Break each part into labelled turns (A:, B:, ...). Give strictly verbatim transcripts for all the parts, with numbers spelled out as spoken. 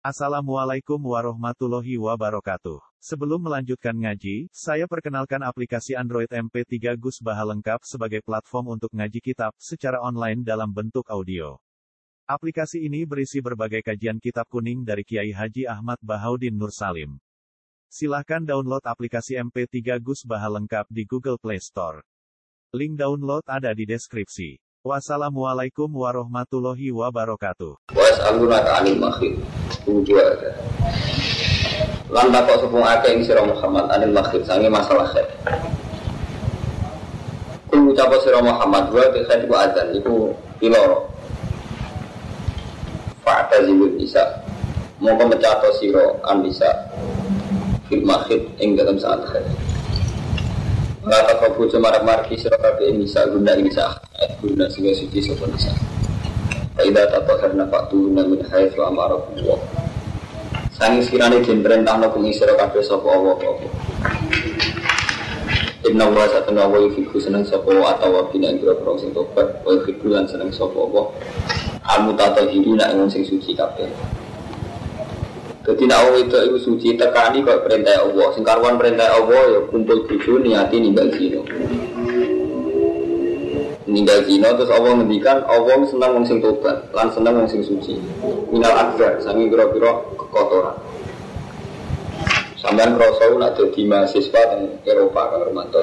A: Assalamualaikum warahmatullahi wabarakatuh. Sebelum melanjutkan ngaji, saya perkenalkan aplikasi Android M P tiga Gus Baha lengkap sebagai platform untuk ngaji kitab secara online dalam bentuk audio. Aplikasi ini berisi berbagai kajian kitab kuning dari Kiai Haji Ahmad Bahaudin Nur Salim. Silahkan download aplikasi M P tiga Gus Baha lengkap di Google Play Store. Link download ada di deskripsi. Wassalamualaikum warahmatullahi wabarakatuh.
B: Was'alunaka 'anil makhid. Dua ada. Lan takok sepung akeh ing sira Muhammad anil makhid sange masalah khair. Kul ucap sira Muhammad wa te khair ku adzan iku piloro. Fa'tazilun bisa. Mongko mecato sira an bisa. Fil makhid ing dalam saat khair. Ngata kabu cemarak marki sira kabeh bisa guna bisa. Guna sing suci sapa bisa. Ida tatahharna fa'tuhunna min haitsu amarakumullah. Sanging sekirane den perintahna kumi sira kabeh sapa Allah apa. Inna wa satana wa yufiku seneng sapa atawa bina ing-ira sing tobat wa yufiku lan seneng sapa Allah. Al-mutatahhirina ing sing suci kabeh. Dadi nek wong itu iku suci tekani kok perintah Allah. Sing karuan perintah Allah ya kumpul bojo niati ninggal zina. Ninggal zina terus Allah ngendikan Allah senang wong sing tobat lan senang wong sing suci minal akbar sangi pira-pira kekotoran. Sampeyan krasa nek dadi mahasiswa teng Eropa kang Romanto.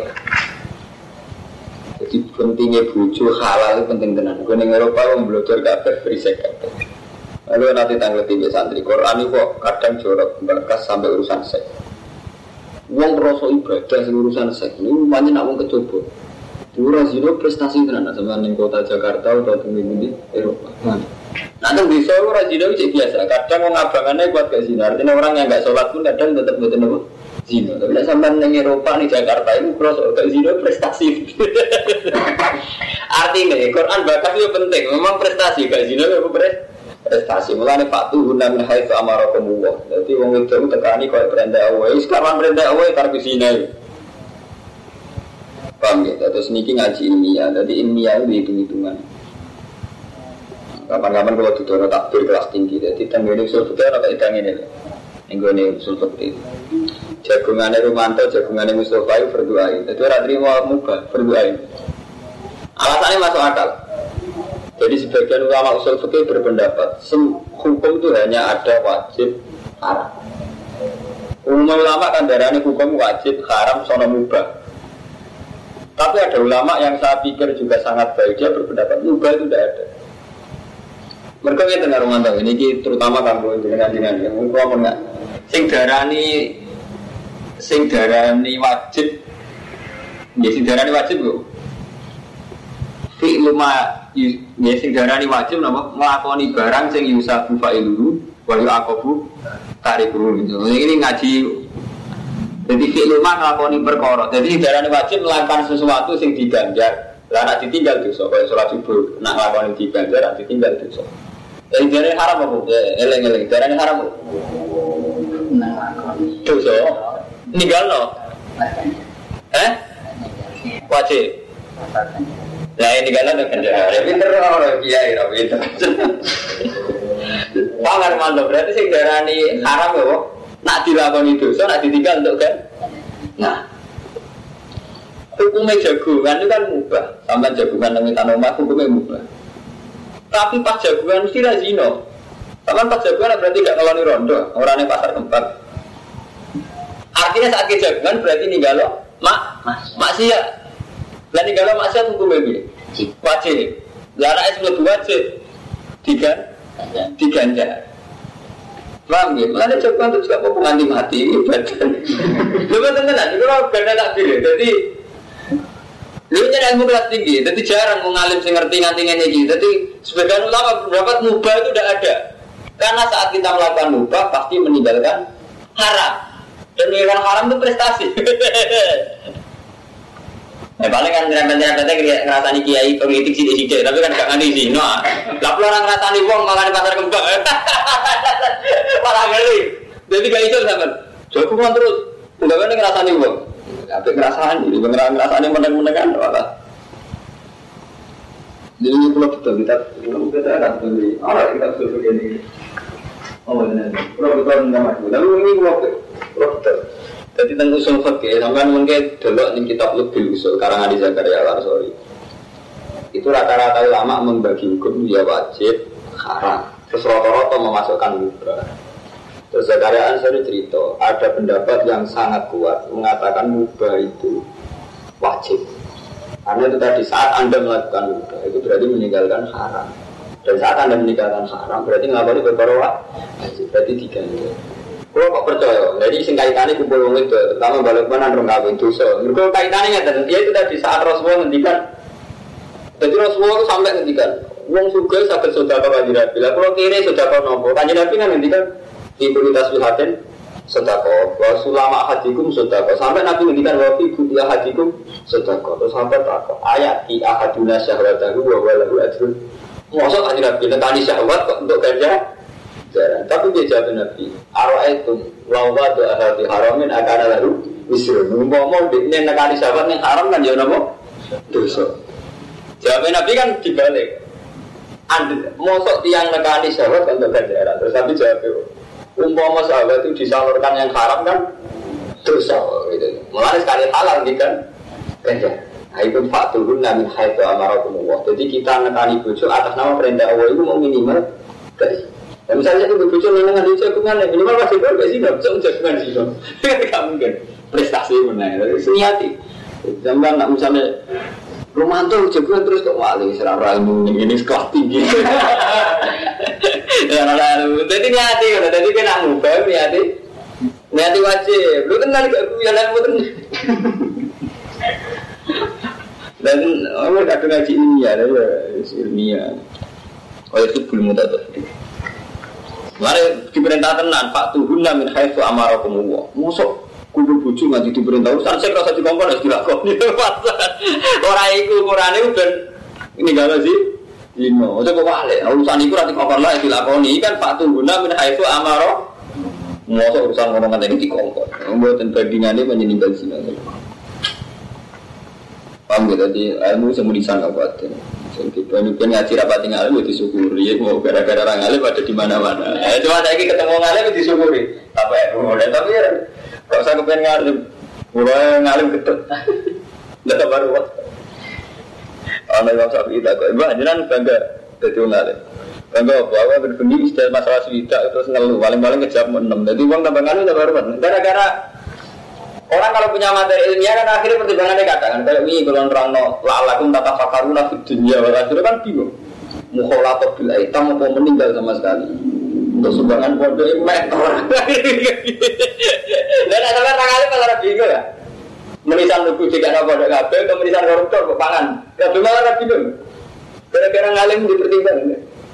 B: Jadi pentingnya bojo halal itu penting tenan. Gue ning Eropa wong belajar kabeh berisik kabeh. Lalu nanti tanggal tiga santri Quran itu kok kadang jorok bakas sampai urusan seks. Wong krasa ibadah sing urusan seks niku pancen nak wong kecoba. Dura zino prestasi tenan sama ning kota Jakarta atau di Eropa. Nah, nanti bisa orang zino itu biasa. Kadang orang abangannya kuat ke zina. Artinya orang yang nggak sholat pun kadang tetap betul betul zino. Tapi sampai ning Eropa nih Jakarta itu cross ke zino prestasi. Artinya Quran bakas itu penting. Memang prestasi ke zino itu prestasi. Mulane Fatu guna min haitsu amarakumullah. Jadi wong itu tekani kaya perintah Allah. Sekarang perintah Allah tarku zina. Paham ya? Terus niki ngaji ilmiah, jadi ilmiah itu hitung-hitungan. Kapan-kapan kalau duduk takbir kelas tinggi, jadi tanggane usul fikih ora kok idang ngene. Nenggone usul fikih. Jagungane Rumanto, jagungane Mustofa itu berdoa. Jadi ora trimo mubah, berdoa. Alasannya masuk akal. Jadi sebagian ulama usul fikih berpendapat, hukum itu hanya ada wajib, haram. Umum ulama kan darahnya hukum wajib, haram, sono mubah. Tapi ada ulama yang saya pikir juga sangat baik, dia berpendapat mubah itu tidak ada. Mereka kita dengar rumah ini, terutama kamu dengan dengan yang mungkin enggak. Sing darani, sing darani wajib, ya sing darani wajib bu. Fi'luma, ya sing darani wajib, nama melakoni barang sing yusafu fa'iluhu, wayu akobu tarikulu. Ini ngaji. Jadi fi'luma ngelakoni perkara. Jadi darane wajib melakukan sesuatu sing diganjar. Lah nek ditinggal dosa, kaya salat subuh, nek nglakoni diganjar, nek ditinggal dosa. Jadi darane haram apa? Ya eleng-eleng, darane haram. Nek nglakoni dosa. Ninggalno. Eh? Wajib. Lah ini ninggalno ganjar. Pinter ora kiai ra pinter. Pangar mantap berarti sing darane haram ya, nak dilakoni dosa, nak ditinggal untuk kan? Nah, hukumnya jagungan itu kan mubah. Sampai jagungan yang tanah hukumnya mubah. Tapi pas jagungan mesti razino. Sampai pas jagungan berarti tidak ngeloni rondo. Orangnya pasar tempat. Artinya saat kejagungan berarti ninggalo mak, maksiat. Dan ninggalo maksiat hukumnya ini wajib. Lara es lebih wajib. Tiga, diganjar. Paham ya? Mana coba untuk siapa penganti mati ibadah. Coba tenan-tenan, itu kalau ganda tak pilih. Jadi, lu nyari ilmu kelas tinggi. Jadi jarang mengalim sing ngerti nganti-nganti gitu. Jadi sebagian ulama berpendapat mubah itu tidak ada. Karena saat kita melakukan mubah pasti meninggalkan haram. Dan meninggalkan haram itu prestasi. Ya paling kan nyerempet-nyerempetnya ngerasani kiai politik sidik-sidik, tapi kan gak nganti sih. Nah, lah orang ngerasani wong malah di pasar kembang. Malah ngeri. Jadi gak iso sampean. Jagungan terus. Enggak kan ngerasani wong. Tapi ngerasani, ngerasani meneng-menengan malah. Jadi ini pulau betul kita, kita kita akan beli. Orang kita betul begini. Oh benar. Kalau kita nggak maju, lalu ini waktu betul. Jadi tentang usul fikih, sampai mungkin dulu di kitab lebih usul karangan di Zakaria Al-Ansori. Itu rata-rata ulama membagi hukum dia wajib, haram. Terus rata-rata memasukkan mubah. Terus Zakaria Al-Ansori cerita, ada pendapat yang sangat kuat mengatakan mubah itu wajib. Karena itu tadi saat Anda melakukan mubah itu berarti meninggalkan haram. Dan saat Anda meninggalkan haram berarti ngelakuin beberapa wajib, berarti diganti. Kalau kok percaya, jadi sing kaitannya kumpul wong itu, terutama balik mana orang kawin dosa. Mereka kaitannya dan dia itu tadi saat Rasulullah ngendikan. Jadi Rasulullah itu sampai ngendikan, wong suga saged sedekah kanjeng Nabi. Lah kalau kiri sedekah nopo? Kanjeng Nabi kan ngendikan di kulitas wihatin sedekah, wa sulama hadikum sedekah. Sampai Nabi ngendikan wa fi buti hadikum sedekah. Terus sampai takok ayat di ahaduna syahwatahu wa walahu ajrun. Mosok kanjeng Nabi nekani syahwat kok untuk ganja? Jarang. Tapi dia jawab Nabi, ara'aitum lawa doa hati haramin akan lalu wisrun. Ngomong di ini nekani syahwat yang haram kan ya napa? Dosa. Jawab Nabi kan dibalik. Anda mosok tiang nekani syahwat untuk ganjaran. Terus Nabi jawab, umpama syahwat itu disalurkan yang haram kan dosa. Gitu. Mulai sekali halal kan ganjaran. Nah itu faturun min haitsu amarakumullah. Jadi kita nekani bojo atas nama perintah Allah itu mau minimal guys. Dan misalnya itu bojo nengan di jagungan minimal pasti ber sih enggak bisa jagungan sih. Enggak mungkin prestasi menang. Seniati. Zaman nak misalnya romanto jagungan terus kok wali serara ilmu ini sekolah tinggi. Ya lalu jadi niati kan tadi kan amu bae niati. Niati wajib. Lu kenal gak ku ya lalu ten. Dan orang kadang ngaji ilmiah, ada ilmiah. Oh itu belum mudah tuh. Mari diperintah tenan, Pak Tuhun namin haitsu amarakumullah. Mosok kudu bojo nganti diperintah urusan sing rasa dikongkon wis dilakoni. Ora iku ukurane ben ninggalo sih. Dino, ojo kok wale. Urusan iku ora dikongkon lah dilakoni kan Pak Tuhun namin haitsu amara. Mosok urusan ngono ngene iki dikongkon. Mboten bandingane menyeninggal sini. Paham gitu, jadi ilmu semua disangka kuatin. Jadi pengen ngaji rapat tinggal ilmu disyukuri. Mau gara-gara orang alim ada di mana-mana. Cuma saya ketemu ngalim disyukuri. Apa ilmu? Tapi ya, kalau saya kepengen ngalim, mulai ngalim ketut. Tidak baru waktu. Anak Imam Syafi'i tak kok. Ibu jangan bangga jadi ngalim. Bangga apa? Aku berbunyi istilah masalah swida terus ngeluh. Paling-paling kejam enam. Jadi uang tambah ngalim tak baru. Gara-gara orang kalau punya materi ilmiah kan akhirnya pertimbangannya kadang kan kayak ini kalau orang no la'alakum tatafakaruna fid dunya wal akhirah kan bingung mukhalatah bil aitam mau meninggal sama sekali untuk sumbangan pondok emek orang dan ada orang kali malah bingung ya menisan lugu jika ada pondok kabel atau menisan koruptor kepangan kabel malah bingung gara-gara ngalim dipertimbangkan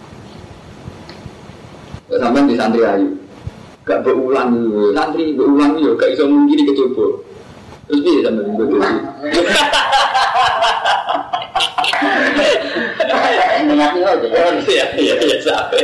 B: sampai di santri ayu gak berulang dulu, santri berulang dulu, gak bisa mungkin kecoba. Terus dia sampai minggu dulu. Mengerti aja. Iya, iya, iya, sampai.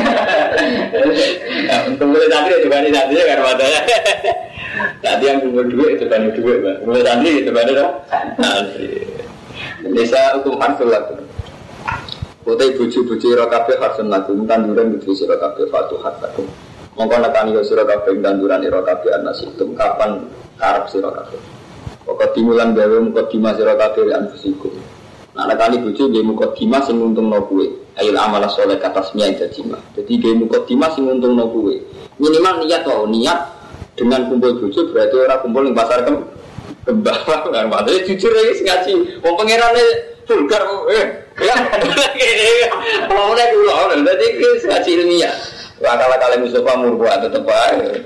B: Untuk mulai santri itu kan santri kan matanya. Tadi yang kumpul duit itu kan duit, bang. Mulai santri itu kan itu santri. Desa hukum harsul laku. Kotai buju-buju rokabe harsul laku. Tanduran buju rokabe fatuh harsul. Mongko nekani yo sira kabeh tanduran ira kabeh ana situm kapan karep sira kabeh. Pokok timulan gawe muka dima sira kabeh lan fisiku. Nah nekani bojo nggih muka dima sing nguntungno kowe. Ail amalah saleh katasnya jajima. Jadi nggih muka dima sing nguntungno kowe. Minimal niat wae niat dengan kumpul bojo berarti ora kumpul ning pasar kem kembang kan padahal jujur iki ngaji. Wong pangerane vulgar eh ya. Wong nek kula dadi iki ngaji ilmiah. Akal-akal Mustafa murbuat tetep ae.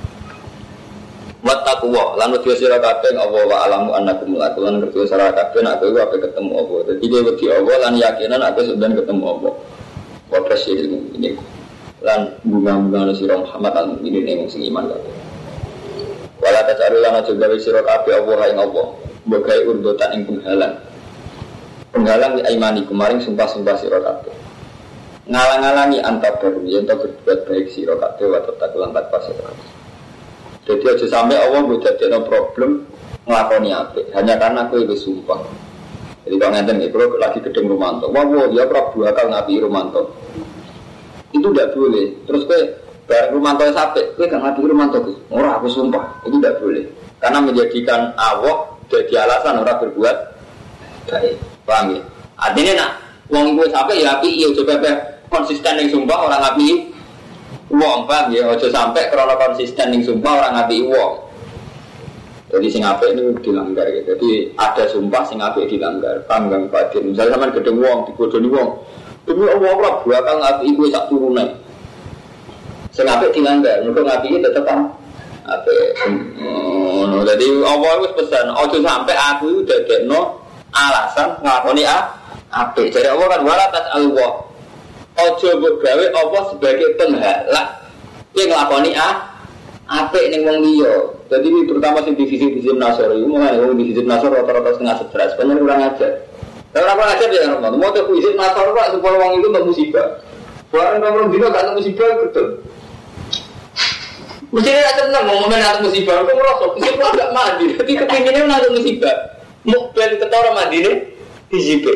B: Wattaqwa lan wedi sira kabeh Allah wa alamu annakum lakulan ngerti sira kabeh nek kowe ape ketemu apa. Dadi kowe wedi Allah lan yakinan aku sedang ketemu apa. Wa presiden ini lan bunga-bunga sira Muhammad lan ini ning sing iman kabeh. Wala tacaru lan aja gawe sira kabeh Allah ing Allah. Mbok gawe urdotan ing penghalang. Penghalang li aimanikum maring sumpah-sumpah sira kabeh. Ngalang-alangi antar baru yang tak berbuat baik sira kabeh wa tatakulan tanpa sira. Jadi aja sampai Allah mbok dadekno problem nglakoni apik hanya karena kowe wis sumpah. Jadi kalau ngenten iki kalau lagi gedeng Romanto, wah wah ya Prabu akal ngapi Romanto. Itu tidak boleh. Terus kowe bareng Rumanto sampai, kowe gak ngapi Rumanto Gus. Ora aku sumpah, itu tidak boleh. Karena menjadikan Allah jadi alasan orang berbuat baik. Paham ya? Artinya nak wong iku sampai ya api iya coba konsisten ning sumpah orang ngapi wong, paham ya? Aja sampai karena konsisten ning sumpah orang ngapi wong. Jadi sing apik ini dilanggar ya. Jadi ada sumpah sing apik dilanggar. Paham gak Pak? Misalnya sampean gedhe wong digodhoni wong. Demi Allah ora bakal ngapi iku sak turune. Sing apik dilanggar, mergo ngapi iki tetep apik. Oh, jadi Allah wis pesan, aja sampai aku dadekno alasan nglakoni apik. Jadi Allah kan wala tas'alwa. Aja mbok gawe apa sebagai penghalak yen nglakoni apik ning wong liya. Jadi terutama sing divisi-divisi Nasor iku mulai wong divisi Nasor rata-rata setengah sebelas, pengen ora ngajar. Ora ora ngajar ya Romo. Mau tuh divisi Nasor kok supaya wong iku entuk musibah. Barang nomor dino gak entuk musibah betul. Mesti ada tenang mau momen atau musibah, aku merosot, musibah gak mandi, tapi kepinginnya ada musibah. Mau beli ketara mandi nih, dizibe.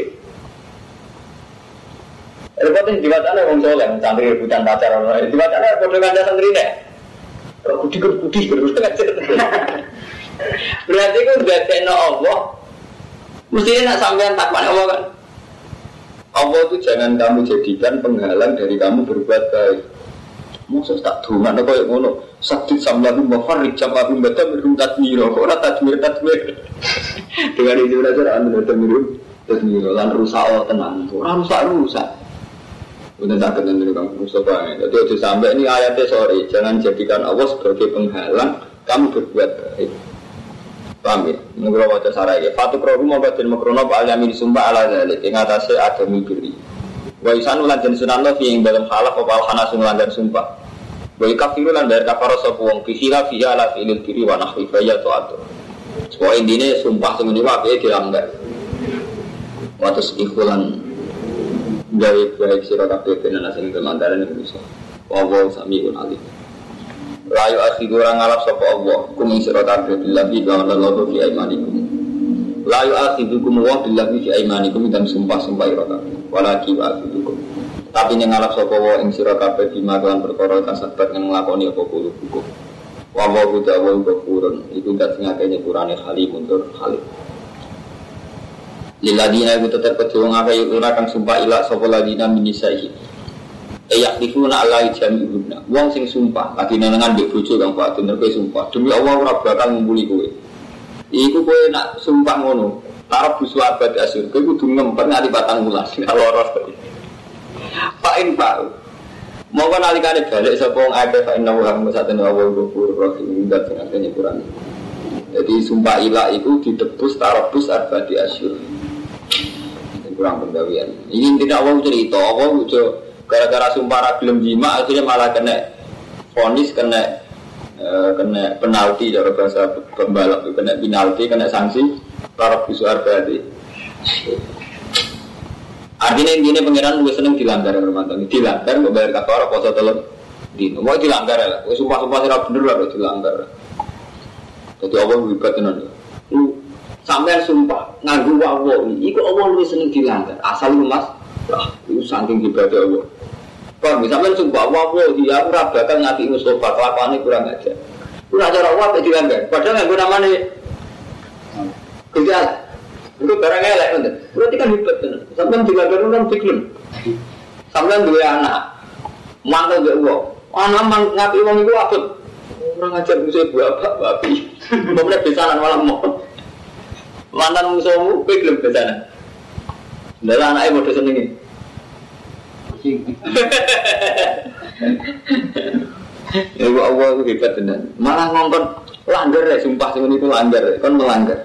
B: Repotnya di wacana orang soleh, santri rebutan pacar orang lain. Di wacana bodoh kanda santri nih, kudi kudi kudi berarti aku udah kena Allah. Mestinya nak sampean takwan Allah kan. Allah itu jangan kamu jadikan penghalang dari kamu berbuat baik. Maksud tak dungan apa yang ngono sakit samlahu mafarrik jamahu batam rumtatmiro kok ora tadmir tadmir dengan itu aja anu tadmir tadmir lan rusak tenang ora rusak rusak udah tak kenal dulu kamu Mustafa jadi aja sampai ini ayatnya sorry jangan jadikan Allah sebagai penghalang kamu berbuat baik paham ya menurut wajah sarai ya fatu krohu mau batin makrono pak al-yamin sumpah ala zalik yang atasnya ada mibiri wa isanu lan jen sunanno fi ing dalam halaf apa al-hanasun lan sumpah wa kafiru lan dari kafaro sapa wong fisila fi ala fi'il diri wa nahwi fa ya ta'atu wa indine sumpah sing niku ape dilanggar wa tasdiqulan gawe baik sira kabeh ben ana sing kemandaran iku iso wa wa samiun alim layu akhiru ora ngalap sapa Allah kum sira kabeh billahi wa Allah fi aimanikum layu akhirukum wa billahi fi aimanikum dan sumpah-sumpah ira kabeh walaki wa akhirukum tapi yang ngalap sapa wa ing sira kabeh bima lan perkara kasabat yang nglakoni apa kulo hukum wa wa ta'ala ghafurun iku dak sing akeh nyepurane kali mundur kali liladina iku tetep kedhe wong akeh ora kang sumpah ila sapa ladina minisai ayak difuna alai jamibuna wong sing sumpah lagi nenengan mbek bojo kang Pak bener kowe sumpah demi Allah ora bakal ngumpuli kowe iku kowe nak sumpah ngono tarap busu abad asyur kowe kudu ngempet nganti patang wulan loros Fa'in Pak mau kan alikane balik sapa wong akeh fa inna wa musatana wa ghafurur rahim dan sing akeh nyepurane jadi sumpah ilah itu ditebus tarabus arba'ati asyur kurang penggawean ini tidak Allah cerita Allah gara-gara sumpah ra gelem jima akhirnya malah kena vonis kena uh, kena penalti cara bahasa pembalap kena penalti kena sanksi tarabus arba'ati artinya intinya pengiran lu seneng dilanggar Romanto dilanggar kok bayar kafara poso telur dino mau dilanggar lah sumpah-sumpah sira bener lah dilanggar jadi Allah wibat tenan lu sampean sumpah nganggo wawo iku Allah lu seneng dilanggar asal lu Mas lah itu saking ibadah Allah kok sampean sumpah wawo dia ora bakal ngati Mustofa kelakuane kurang aja lu acara wawo dilanggar padahal nganggo namane gejala itu barang elek kan, berarti kan hebat kan. Sampai dilanggar orang pikir, sampai dua anak, mantel dia uang, anak mang ngapi uang itu apa? Orang ngajar musuh bapak babi, mau mulai besanan malam mau, mantan musuhmu pikir besanan. Dari anaknya bodoh senengin. Ibu Allah itu hebat benar. Malah ngongkon langgar ya, sumpah seperti itu langgar, kan melanggar.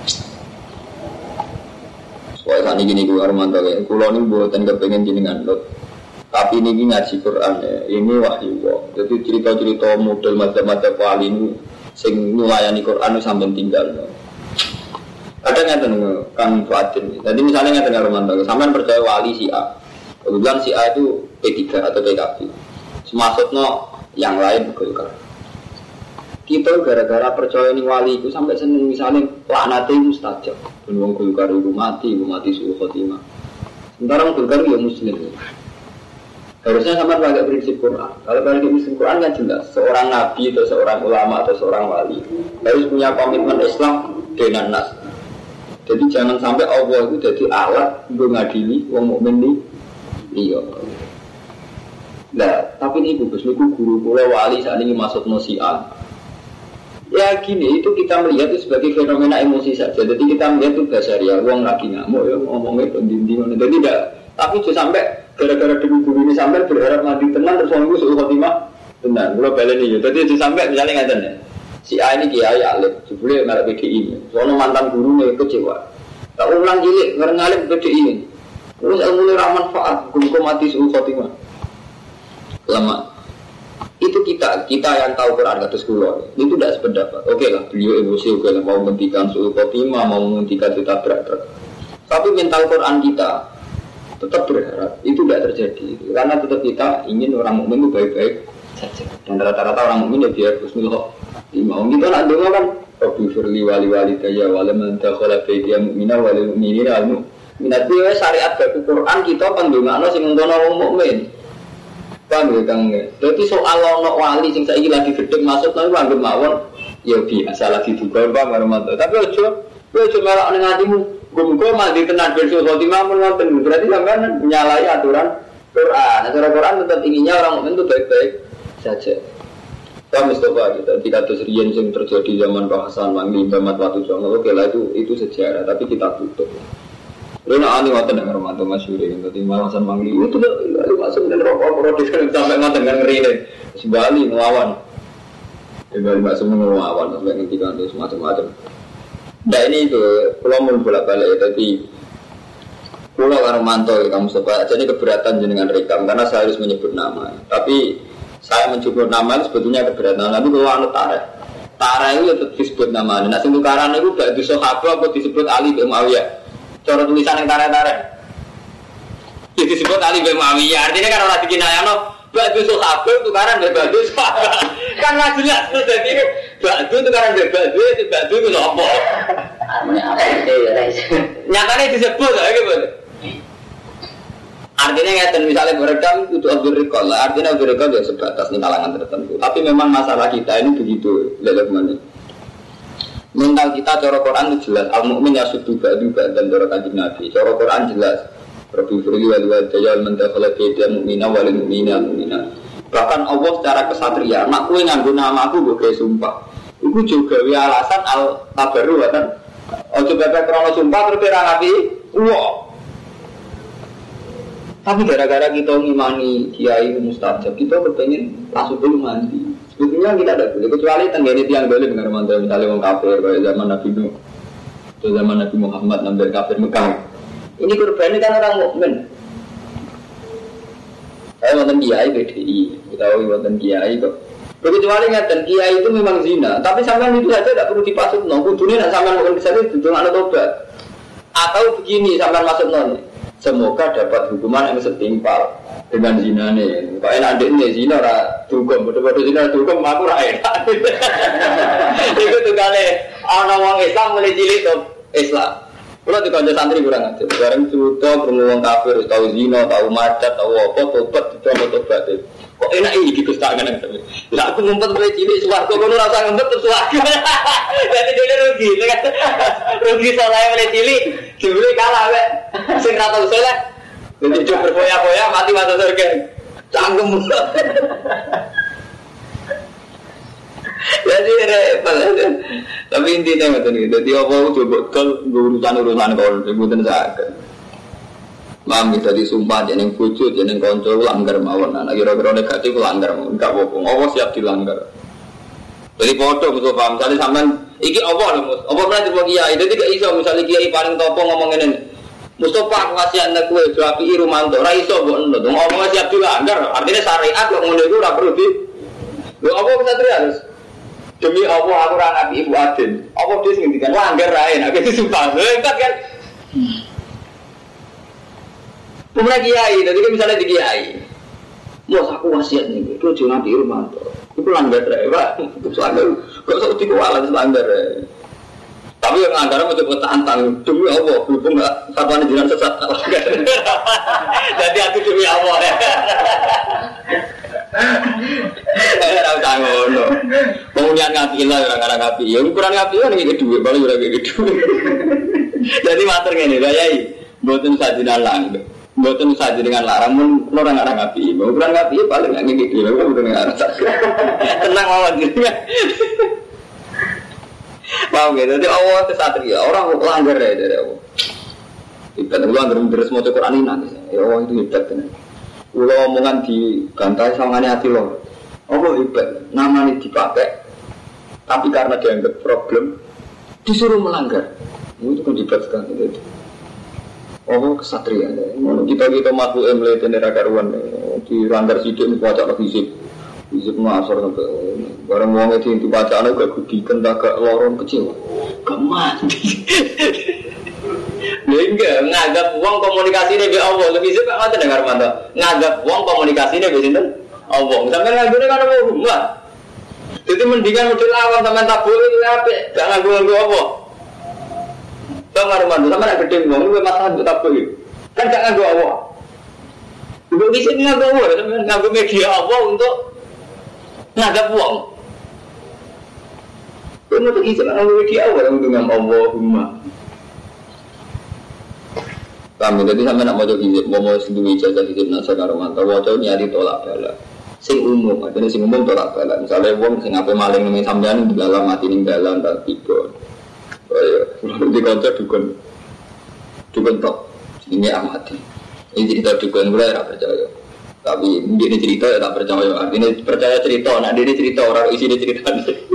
B: Wah saat ini gue Armanto ya, kulo ini buatan kepengen jenengan lot. Tapi ini ngaji Quran ya, ini wahyu wah. Jadi cerita-cerita model macam-macam wali ini, sing melayani Quran sampai tinggal. Ada nggak tuh Kang Fuadin? Jadi misalnya nggak dengar Armanto, sampai percaya wali si A. Kebetulan si A itu P tiga atau P K B. Maksudnya yang lain Golkar. Kita gara-gara percaya ini wali itu sampai seneng misalnya laknate mustajab. Ben wong Golkar itu mati, itu mati suul khotimah. Sementara wong Golkar ya muslim. Harusnya sama pakai prinsip Quran. Kalau pakai prinsip Quran kan jelas seorang nabi atau seorang ulama atau seorang wali harus punya komitmen Islam dengan nas. Jadi jangan sampai Allah itu jadi alat untuk ngadili wong mukmin ini. Iya. Nah, tapi ini Gus niku guru kula wali saat ini masuk nosian. Ya gini, itu kita melihat itu sebagai fenomena emosi saja. Jadi kita melihat itu basaria, wong lagi ngamuk ya ngomongnya pendinding. Jadi tidak. Tapi juga sampai gara-gara demi guru ini sampai berharap mati tenang terus orang itu suruh khotimah tenang. Kalau balik ini, jadi itu sampai misalnya ngatain ya, si A ini kiai alim, jebule ngarep P D I. Soalnya mantan guru nih kecewa. Tak ulang cilik ngarep P D I. Terus ilmu ini ramanfaat, guru mati suruh khotimah. Lama. Itu kita, kita yang tahu Quran kata sekolah itu tidak sependapat. Oke lah, beliau emosi, oke lah mau menghentikan suruh khotimah, mau menghentikan kita berat. Tapi mental Quran kita tetap berharap itu tidak terjadi karena tetap kita ingin orang mukmin itu baik-baik saja dan rata-rata orang mukmin ya biar husnul khotimah. Kita nak dengar kan Rabbi firli wali wali daya wala man dakhala baitiya mu'mina wal mu'minina al mu'minat. Syariat baku Quran kita pendongakno sing ngono wong mukmin. Paham ya Kang? Dadi soal ono wali sing saiki lagi gedhe masuk nang anggap mawon ya biasa lagi juga Pak Marmanto. Tapi ojo ojo melok ning atimu. Gumko mandi tenan bersul khotimah menonton berarti sampean menyalahi aturan Quran. Aturan Quran tetap inginnya orang mukmin itu baik-baik saja. Pak Mustafa kita tidak terus riyen yang terjadi zaman Pak Hasan Mangli Bamat Watu Songo. Oke lah itu itu sejarah tapi kita tutup. Lalu ani ngoten nang Romanto masyhur iki dadi Hasan Mangli itu masuk dan rokok produksi sampai ngoten kan ngeri Bali melawan. Di Bali masuk melawan sampai ngendikan itu macam-macam. Nah ini itu, kalau mau bolak-balik tadi pulau Romanto kamu sebab jadi keberatan dengan rekam karena saya harus menyebut nama. Tapi saya menyebut nama sebetulnya keberatan. Tapi kalau anu tareh, tareh itu tetap disebut nama. Nah sekarang itu gak disahab apa disebut Ali bin Muawiyah. Cara tulisan yang tareh-tareh disebut Ali bin Muawiyah. Artinya kan orang dikinayano batu sahabat itu karena batu sahabat kan nggak jelas tuh jadi batu itu karena batu itu batu itu apa? Nyatanya disebut lah gitu. Artinya ngeten misalnya berekam itu Abdul Rikol lah. Artinya Abdul Rikol ya sebatas di kalangan tertentu. Tapi memang masalah kita ini begitu lelak mana. Mental kita cara Quran itu jelas. Al-Mu'min yasudu ba'du ba'dan cara Kanjeng Nabi. Cara Quran jelas. Rabbi firli wal wadayal mentakhala baitiya mu'mina wal mu'mina mu'mina. Bahkan Allah secara kesatria, nak kowe nganggo nama aku mbok gawe sumpah. Iku juga gawe alasan al-tabarru kan. Ojo bebek krono sumpah terus ora ngapi. Wah. Tapi gara-gara kita ngimani kiai mustajab, kita kepengen langsung dulu mandi. Sebetulnya kita ada boleh kecuali tenggene tiang boleh dengar mantra misalnya wong kafir kayak zaman Nabi Nuh. Atau zaman Nabi Muhammad nambah kafir Mekah. Ini korban kan orang mukmin. Saya wonten kiai B D I, kita tahu wonten kiai kok. Kecuali ngaten kiai itu memang zina, tapi sampean itu saja tidak perlu dipasutno. Kudune nek sampean mungkin bisa dituntut ana tobat. Atau begini sampean masukno. Semoga dapat hukuman yang setimpal dengan zinane. Kok enak ndekne zina ora dugem, padha-padha zina dugem aku ora enak. Iku tukane ana wong Islam mulai cilik to Islam. Kalau di kantor santri kurang aja, bareng cerita bermuang kafir, tahu zina, tahu macet, tahu apa, tobat, dicoba tobat. Kok enak ini di kestangan yang tapi. Lah aku ngumpet mulai cilik suwargo, kalau rasa ngumpet terus suwargo. Jadi dia rugi, kan? Rugi soalnya mulai cilik, dibeli kalah, be. Sing rata usul lah. Jadi coba berfoya-foya, mati masuk surga. Canggung mulu. Jadi repot. Tapi intinya macam ni. Jadi apa coba kalau urusan-urusan kau sebutan saya. Mam kita disumpah jeneng pucuk, jeneng konco langgar mawon. Nah kira-kira negatif langgar mawon. Enggak bohong. Allah siap dilanggar. Jadi foto musuh paham. Misalnya sampean iki apa lho mus? Apa pernah coba kiai? Jadi gak iso misalnya kiai paling topo ngomong ini. Mustafa aku kasih anak kue juapi Rumanto. Ra iso mbok ngono. Ngomong siap dilanggar. Artinya syariat kok ngono iku ora perlu di. Lho apa bisa terus? Demi Allah aku ora nabi Ibu Adin. Apa dia sing ngendikan langgar rae nek iki sumpah. Lho entar kan. Pemerintah kiai, jadi kan misalnya di kiai. Mus aku wasiat nih, itu jangan nabi Rumanto. Itu langgar rae, Pak. Itu langgar. Kok sok dikualan langgar rae. Tapi Tapi yang anggaran mau coba tantang demi Allah, berhubung nggak fatwa jiran sesat. Jadi aku demi Allah ya. Eh, tahu tanggung no. Pengundian ngapi lah orang-orang ngapi. Ya ukuran ngapi kan ini kedua, baru udah kedua. Jadi mater ini, gayai. Buatin sajinan lang, buatin saji dengan larang pun orang-orang ngapi. Ukuran ngapi paling nggak gitu, baru udah nggak rasa. Tenang awan gitu. Paham gitu? Jadi Allah itu satria, orang langgar ya dari Allah. Ibadah Allah langgar terus mau Quran ini nanti. Ya Allah itu ibadah. Kalau omongan di bantai sawangane hati lo, Allah hebat, namanya dipakai, tapi karena dianggap problem, disuruh melanggar. Itu kan hebat sekali itu. Allah kesatria. Kita kita makhluk emle tenera karuan, dilanggar sidik baca lagi fisik, fisik masar sampai barang uang itu yang dibaca anak gak gudikan, gak lorong kecil, gak mati. Enggak, nganggap uang komunikasi ini be Allah. Lebih suka macam dengar mantap. Nganggap uang komunikasi ini be sinten? Allah. Sampai nganggur kan apa rumah. Jadi mendingan model awam sampai tak boleh apa? Jangan nganggur apa. Sampai mantap. Sampai nak gede uang, lu masalah tak boleh. Kan jangan nganggur Allah. Untuk di sini nganggur Allah, sampai nganggur media Allah untuk nganggap uang. Untuk isi nganggur media Allah untuk nganggur Allahumma. Kami jadi sampai nak mau jadi mau mau sendiri jaga hidup nasa karuman. Tahu tahu nyari tolak bala. Sing umum, artinya sing umum tolak bala. Misalnya uang sing apa maling nih sampean di dalam mati nih dalam tak tiga. Oh ya, lalu di kantor dukun, dukun top. Ini amati. Ini cerita dukun mulai tak percaya. Tapi dia cerita ya tak percaya. Artinya percaya cerita. Nah dia cerita orang isi dia cerita.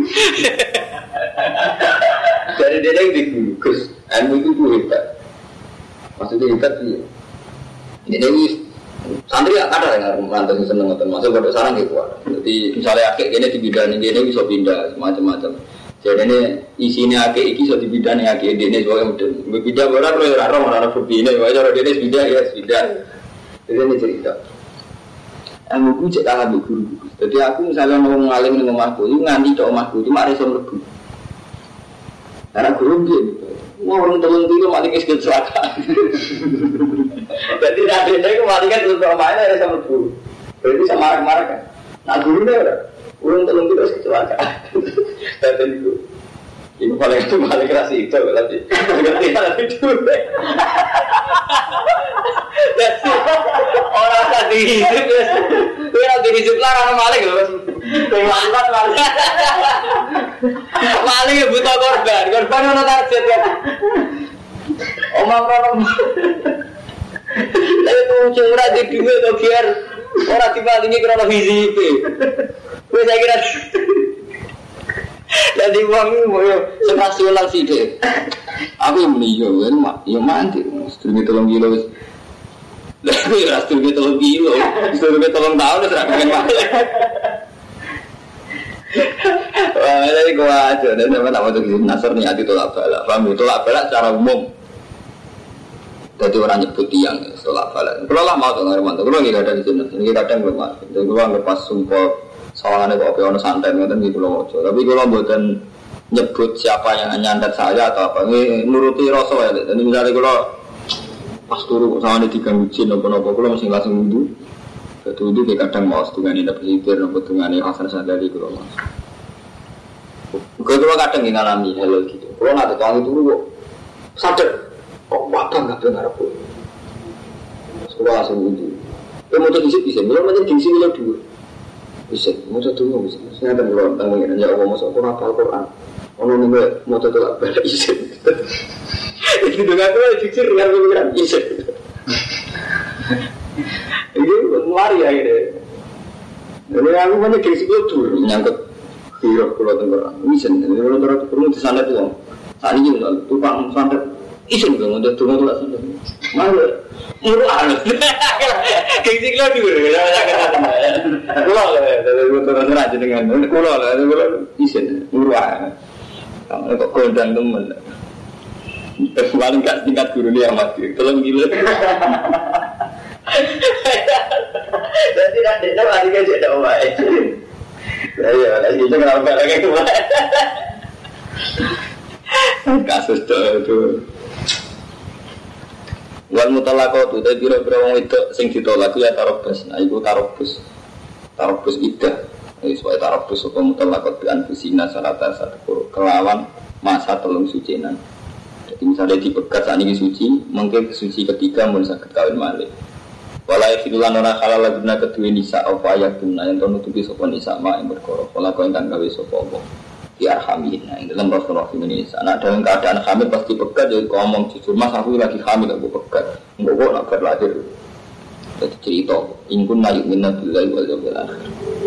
B: Dari dia yang digugus, ilmu itu tuh hebat. Maksudnya hebat sih. Ini santri ada yang merantau yang seneng ngoten. Maksud pada sarang gitu. Jadi misalnya akik ini di bidang ini ini bisa pindah macam-macam. Jadi ini isinya akik ini bisa di bidang yang akik ini sebagai model. Pindah orang kalau orang orang orang ini, wajar orang ini pindah ya pindah. Jadi ini cerita. Aku pun cek kalah guru. Jadi aku misalnya mau ngalim dengan omahku, itu nganti cok omahku cuma ada yang lebih. Karena guru dia. Wah orang telung dulu mati kes kecelakaan. Jadi nadenya itu mati kan untuk mainnya ada sama guru. Berarti sama marah-marah kan. Nah gurunya ada orang telung dulu kecelakaan. Dan itu ini paling itu paling keras itu berarti. Berarti ada itu. Jadi orang tadi hidup, orang tadi hidup lah orang maling loh. Mantap maling. Maling ya buta korban, korban mana target kan? Omong orang. Tapi muncul orang di dunia atau biar orang dipalingi kerana hizib. Gue saya kira. Jadi uang ini mau senasulan sih deh. Aku yang meninggal kan, yang mandi. Setengah tolong kilo. Tapi setengah tolong kilo, setengah tolong tahun sudah pengen balik. Wah, jadi gua aja. Dan memang tak mau jadi nasar nih hati tolak balak. Paham? Tolak balak secara umum. Jadi orang nyebut tiang tolak balak. Kalau lah mau tolak Hermanto, kalau nggak ada di sini, ini kadang belum masuk. Jadi gua lepas sumpah sawangannya kok peon santai ngoten gitu loh. Tapi kalau buatan nyebut siapa yang nyandat saya atau apa, ini nuruti rasa ya. Dan misalnya kalau pas turu sawangannya diganggu jin apa-apa, kalau masih langsung wudhu. Itu itu kadang mau setengah ini dapat hibir, dapat setengah ini Hasan Sadali kalau mas. Kalau kadang ngalami hal gitu. Kalau nggak tahu itu dulu sadar, kok apa nggak dengar apa. Sekolah langsung wudhu. Kalau mau jadi bisa, belum aja di sini dulu. Bisa, mau satu mau bisa. Saya ada belum tahu ya, ya Allah masuk Quran apa Quran. Orang ini mau satu apa bisa. Itu dengan tu fikir dengan pikiran bisa. Ini lari ya ini. Jadi aku banyak krisis itu menyangkut hiruk pulau Tenggara. Isen, jadi pulau Tenggara perlu di sana tuh. Saat ini juga tukang santet. Isen dong, udah tukang tuh lah. Mana? Murah. Krisis itu dulu. Pulau lah, dari pulau Tenggara aja dengan pulau lah, pulau isen murah. Kamu kok kodang temen. Paling kat tingkat guru dia mati. Tolong gila. Jadi nanti nak lagi kerja dah awak. Saya lagi jangan apa lagi tu. Kasus itu. Wal mutalaqatu ta biro-biro wong itu sing ditolak ya tarobus. Nah iku tarobus. Tarobus iddah. Wis wae tarobus apa mutalaqat bi anfusina salata satu kelawan masa telung sucinan. Jadi misalnya dipegat saat ini suci, mungkin suci ketiga mun saged kawin malih. Wala yafidulan ora halal guna kedue nisa apa ayatuna yang nutupi sapa nisa mak ing perkara. Wala kok ingkang gawe sapa apa. Di arhamin. Nah, dalam Rasulullah Indonesia. Nah, dalam keadaan hamil pasti pegat jadi ngomong jujur, Mas aku lagi hamil aku pegat. Enggak kok nak berlahir. Jadi cerita, ingkun mayuk minna billahi wal yawmil akhir.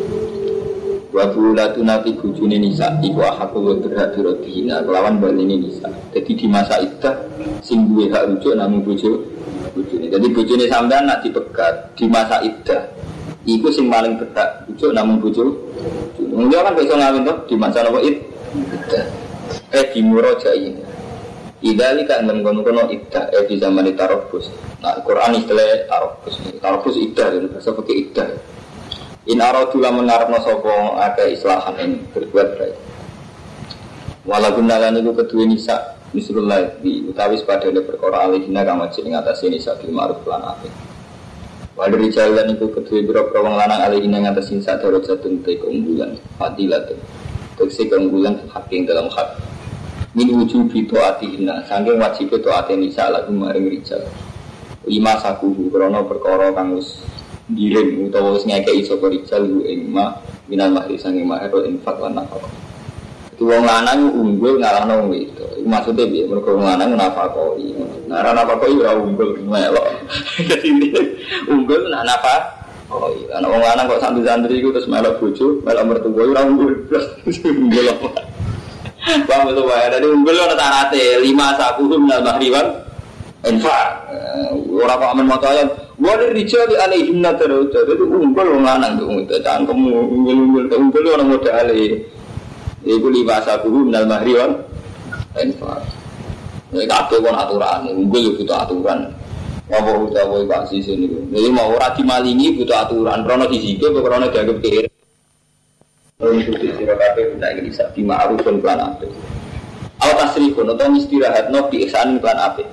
B: Wa bulatuna fi bujuni nisa iku hakku wa dirhadirina kelawan balene nisa. Jadi di masa iddah sing duwe hak rujuk namung bojo bojone. Jadi bojone sampean nak dipegat di masa iddah iku sing paling berhak rujuk namung bojo. Mungkin kan bisa ngawin tuh di masa nopo iddah. Eh di murojai. Idali kan mengkono-kono iddah eh di zaman tarobus. Nah Quran istilah tarobus. Tarobus iddah dan bahasa pakai iddah. In aradu lamun ngarepno sapa akeh islahan ing berbuat baik. Walaupun nalan iku kedue nisa misrullah di utawi padane perkara alihina kang wajib ing atase nisa bil ma'ruf lan apik. Wadri jalan iku kedue boro-boro wong lanang alihina ing atase nisa darajatun te keunggulan fadilatun. Tegese keunggulan hak ing dalam hak. Min wujubi taatihina saking wajib taate nisa lagu maring rijal. Lima sakuhu krana perkara kang wis dirim utawa wis ngekeki sapa rijal ing ma minal mahri sange mahar infak lan nafkah. Itu wong lanang unggul ngalahno wong itu. Iku maksude piye? Mergo wong lanang nafkahi. Nah, ora nafkahi ora unggul melok. Dadi unggul nak nafkah. Oh iya, ana wong lanang kok santri-santri iku terus melok bojo, melok mertua ora unggul. Unggul apa? Bang itu wae dari unggul ana tarate lima sakuhum minal mahri wan infak. Ora kok amen maca ayat wali rijal alaihim nadar itu unggul wong lanang tuh itu cangkem unggul-unggul unggul orang modal iku libasa guru minal mahri wan infak. Nek kabeh kon aturan unggul butuh aturan. Apa utawa Pak Sisi niku. Jadi mau ora dimalingi butuh aturan, rono disike kok rono dianggap kiri. Ora kudu sira kabeh tak iki sak ma'rufun plan apik. Aw tasrifun atau istirahatno bi ihsan plan apik.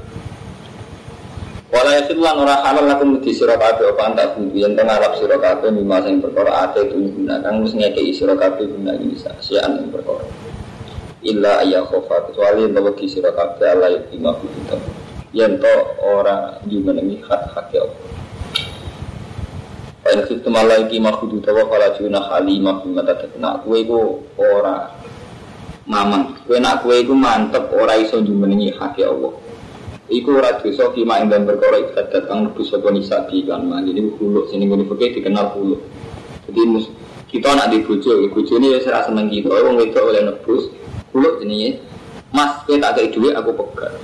B: Wala yasilan ora halal lakum di sira kabeh apa antak bumi yen ngarep sira kabeh mimma sing perkara ate guna kang wis ngekeki sira kabeh guna bisa sian ing perkara illa ayya khofa kecuali yen wedi sira kabeh ala yima kita yen to ora dimenengi hak-hak ya Allah. Yen kita malah iki makhudu tawa kala juna halimah mata tekna kowe iku ora mamang kowe nak kowe iku mantep ora iso dimenengi hak ya Allah. Iku ora dosa ki mak ing perkara ibadat kang mlebu sapa nisa di kan man iki huluk sing ngene fikih dikenal huluk. Jadi kita nak di bojo, bojone wis ora seneng kita, wong wedok oleh nebus huluk jenenge Mas kowe tak kei dhuwit aku pegat.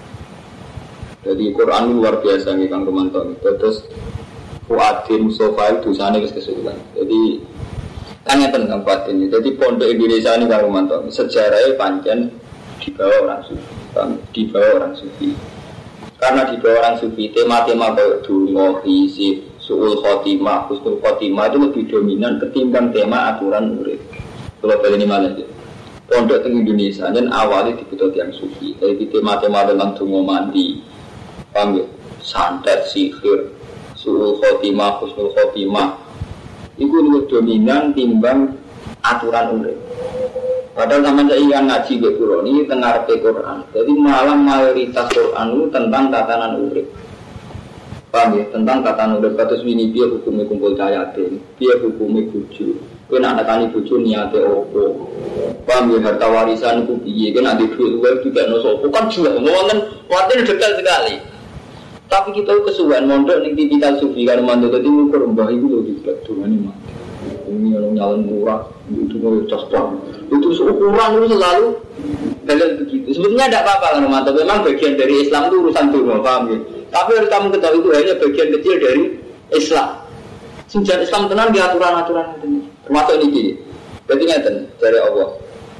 B: Jadi Quran luar biasa nih Kang Romanto. Terus Fuadin Mustafa itu dosane wis kesuwen. Jadi kan ngeten Kang Fuadin. Jadi pondok Indonesia ini Kang Romanto sejarahnya pancen di bawah orang sufi, di bawah orang sufi. Karena di bawah orang sufi tema-tema kayak dungo, isi, su'ul khotimah, husnul khotimah itu lebih dominan ketimbang tema aturan urip. Kalau kali ini malah ya. Pondok di Indonesia dan awalnya dibutuh yang sufi. Jadi tema-tema tentang dungo mandi, paham ya? Santet, sihir, su'ul khotimah, husnul khotimah itu lebih dominan timbang aturan urip. Padahal sama saya yang ngaji ke Quran ini tengah ke Quran. Jadi malah mayoritas Quran itu tentang tatanan urip. Paham ya? Tentang tatanan urip. Katus ini dia hukumnya kumpul cayatin, dia hukumnya buju. Kau nak nekani buju niatnya opo. Paham ya? Harta warisan itu biye. Kau nak dibuat luar juga nosopo. Kan juga ngomongin waktu detail sekali. Tapi kita kesuwen mondok ning tipikal sufi kan mandor dadi ngukur mbah iku lho dibet dongane mah. Ini orang nyalon murah, itu mau cosplay. Itu ukuran itu selalu dalil begitu. Sebetulnya tidak apa-apa kan Romanto. Memang bagian dari Islam itu urusan dunia, paham ya? Tapi harus kamu ketahui itu hanya bagian kecil dari Islam. Sejarah Islam tenang di aturan-aturan itu. Termasuk ini. Jadi ngeten dari Allah.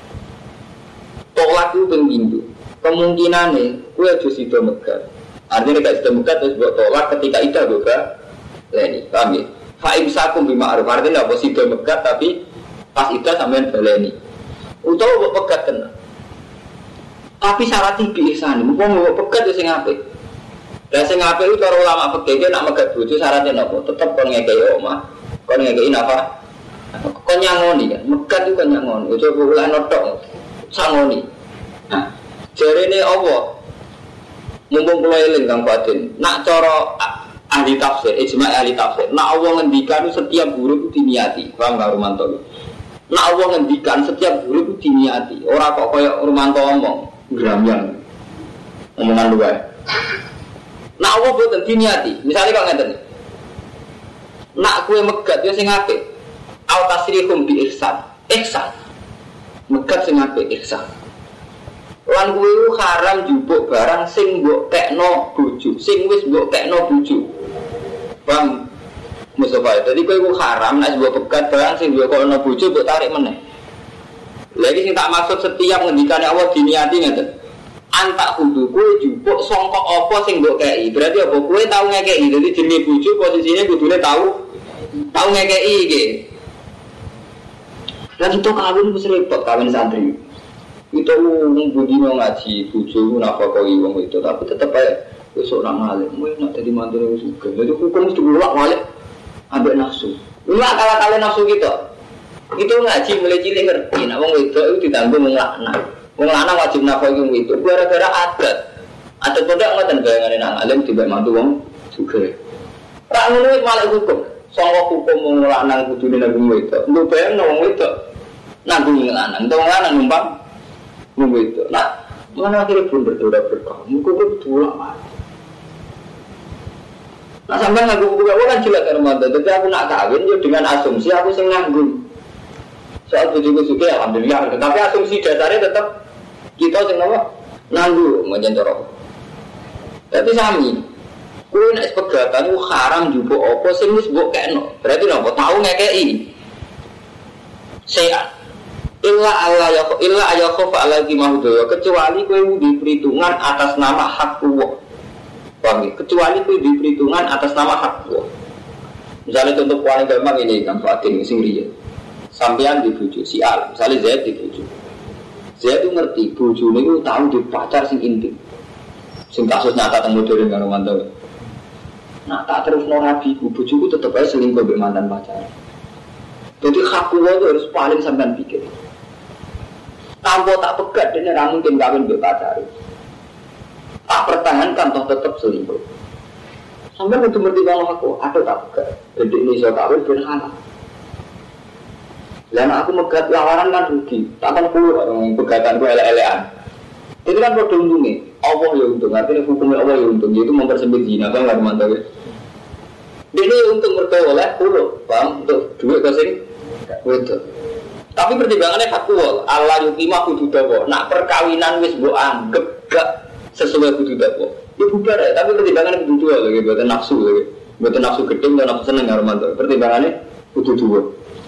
B: Tolak itu pengindu. Kemungkinannya, kue harus itu megat. Artinya tidak sudah megat terus buat tolak ketika itu juga. Ini, paham ya? Fa'im sakum bima'aruf, artinya tidak positif megat tapi pas itu sampai baleni utawa buat pegat kena Tapi syarat iki ihsan, wong nggo pegat ya sing apik. Lah sing apik itu para ulama fikih nek megat bojo syaratnya napa? Tetep kon ngekeki omah, kon ngekeki napa? Kon nyangoni kan, megat itu kon nyangoni. Ojo ulah notok sangoni. Nah, jarene Allah mumpung kula eling Kang Fadil, nak cara ahli tafsir, ijma' ahli tafsir, nak Allah ngendikan setiap huruf itu diniati. Paham Kang Rumanto? Nak Allah ngendikan setiap huruf itu diniati. Ora kok kaya Rumanto ngomong gramyan omongan luar. Nak Allah boten diniati. Misalnya kok ngeten. Nak kue megat yo sing apik. Au tasrihum bi ihsan. Ihsan. Megat sing apik ihsan. Lan kuwi haram njupuk barang sing mbok tekno bojo, sing wis mbok tekno bojo. Bang Mustafa, jadi kuwi haram nek mbok pegat barang sing mbok tekno bojo mbok tarik meneh. Lagi sing tak maksud setiap ngendikane Allah diniati ngeten. Antak kudu kowe njupuk sangka apa sing mbok kei. Berarti apa kowe tau ngekeki. Dadi jenenge bojo posisine kudune tau tau ngekeki iki. Lah itu kawin wis repot kawin santri. Itu wong budino ngaji bojo nafakoi wong itu tapi tetep ae wis ora ngalim. Kowe nek dadi mantune wis sugih. Dadi hukum mesti diulak balik ambek nafsu. Ora kala-kala nafsu kita. Itu ngaji mulai cilik ngerti nek wong wedok itu ditanggung wong lanang. Wong lanang wajib nafakoi wong itu gara-gara adat. Adat pondok ngoten bayangane nang alim tiba mantu wong sugih. Ra ngono wis malah hukum. Sangka hukum wong lanang kudune nanggung wedok. Lu bayangno wong wedok nanggung wong lanang, wong lanang numpang wong wedok. Nah, mana akhirnya pun berdoa berkah. Muka berdua mati. Nah sampai nganggung buka kan jelas kan Ramadan. Tapi aku nak kawin ya dengan asumsi aku sing nganggung. Soal tujuh suka alhamdulillah. Tapi asumsi dasarnya tetap kita sing apa? Nganggung macam corok. Tapi sami. Kowe nek pegatan ku haram njupuk apa sing wis mbok kekno. Berarti napa tau ngekeki. Sehat. Illa Allah ya illa ayakhofa alaihi mahudaya kecuali kowe di perhitungan atas nama hak Allah. Paham ya? Kecuali kowe di perhitungan atas nama hak Allah. Misalnya contoh paling gampang ini kan Fatin sing riya. Sampean di bojo si Al, misalnya Zaid di bojo. Zaid itu ngerti bojone iku tau di pacar sing intim. Sing kasus nyata teng modern karo mantan. Nah, tak terus no nabi ku bojoku tetep ae selingkuh mbek mantan pacar. Jadi hak Allah itu harus paling sampean pikir. Tanpa tak pegat dia tidak mungkin kawin berpacar. Tak pertahankan toh tetap selingkuh. Sampai untuk bertimbang aku, ada tak pegat. Jadi ini saya kawin berhala. Dan aku megat lawaran kan rugi. Takkan keluar orang pegatan gue ele-elean. Itu kan produk untungnya. Allah ya untung. Artinya hukumnya Allah ya untung. Itu mempersempit zina kan nggak mantap ya. Dia ini untung berdoa oleh pulau. Paham? Untuk duit ke sini. Betul. Tapi pertimbangannya faktual. Allah yukimah kudu dawa. Nak perkawinan wis mbok anggap gak sesuai kudu dawa. Ya bubar ya, tapi pertimbangannya kudu dua lagi, buatan nafsu lagi. Buatan nafsu gedeng dan nafsu seneng ya Romanto. Pertimbangannya kudu dua.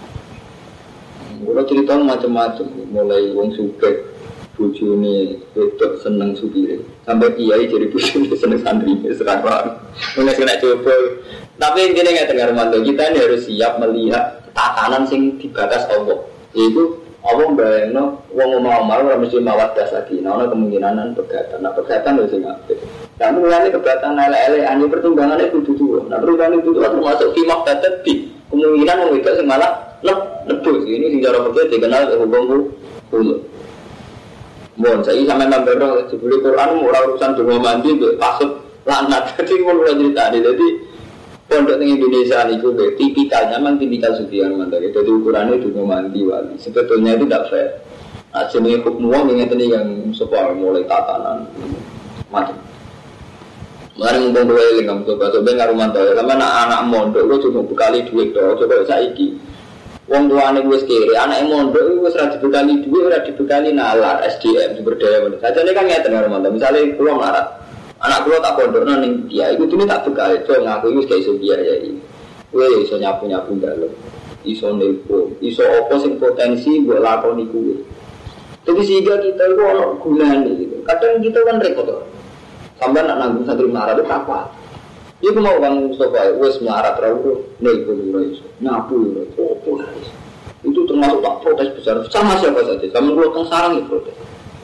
B: Kalau cerita macam-macam, mulai wong suke, bujune wedok seneng supire, sampai kiai jadi bujune seneng santri sekarang. Mulai kena coba. Tapi intinya nggak dengar Romanto. Kita ini harus siap melihat tatanan sing dibatas Allah. Yaitu Allah bayangno wong omah-omah ora mesti mawaddah lagi. Nah, ana kemungkinan pegatan. Nah, pegatan lho sing apik. Lah mulane pegatan elek-elek ane pertimbangane kudu tuwa. Nah, pertimbangane kudu termasuk fi maqtadati. Kemungkinan wong wedok sing malah nebus. Ini sing cara fikih dikenal hukum hulu. Mon, saya sampe nambah jebule Quran ora urusan donga mandi mbek pasut lanat. Dadi ngono ora critane. Dadi pondok di Indonesia itu tipikalnya memang tipikal sufian mandiri. Jadi ukurannya juga mandi wali. Sebetulnya itu tidak fair. Nah, jenis hukum uang yang ini yang sebuah mulai tatanan macam. Mari ngomong dua ini kamu coba coba ngaruh mantau. Karena anak mondok itu cuma bekali duit doh. Coba saya iki. Uang tua anak gue sekiri. Anak mondok itu sudah dibekali duit, sudah dibekali nalar S D M sumber daya. Saja ini kan ngerti ngaruh mantau. Misalnya pulang larat. Anak gua tak pondok nang dia, itu tuh tak bekal itu ngaku itu kayak iso biayai. Gue iso nyapu nyapu dalam, iso nepo, iso opo sing potensi buat lakoni gue. Jadi sehingga kita itu orang gunanya gitu. Kadang kita kan repot, sampai nak nanggung santri marah itu apa? Iku mau bang Mustafa, wes marah terlalu nepo dulu iso, nyapu dulu, opo itu termasuk tak protes besar sama siapa saja. Sama gua kan sarang itu protes.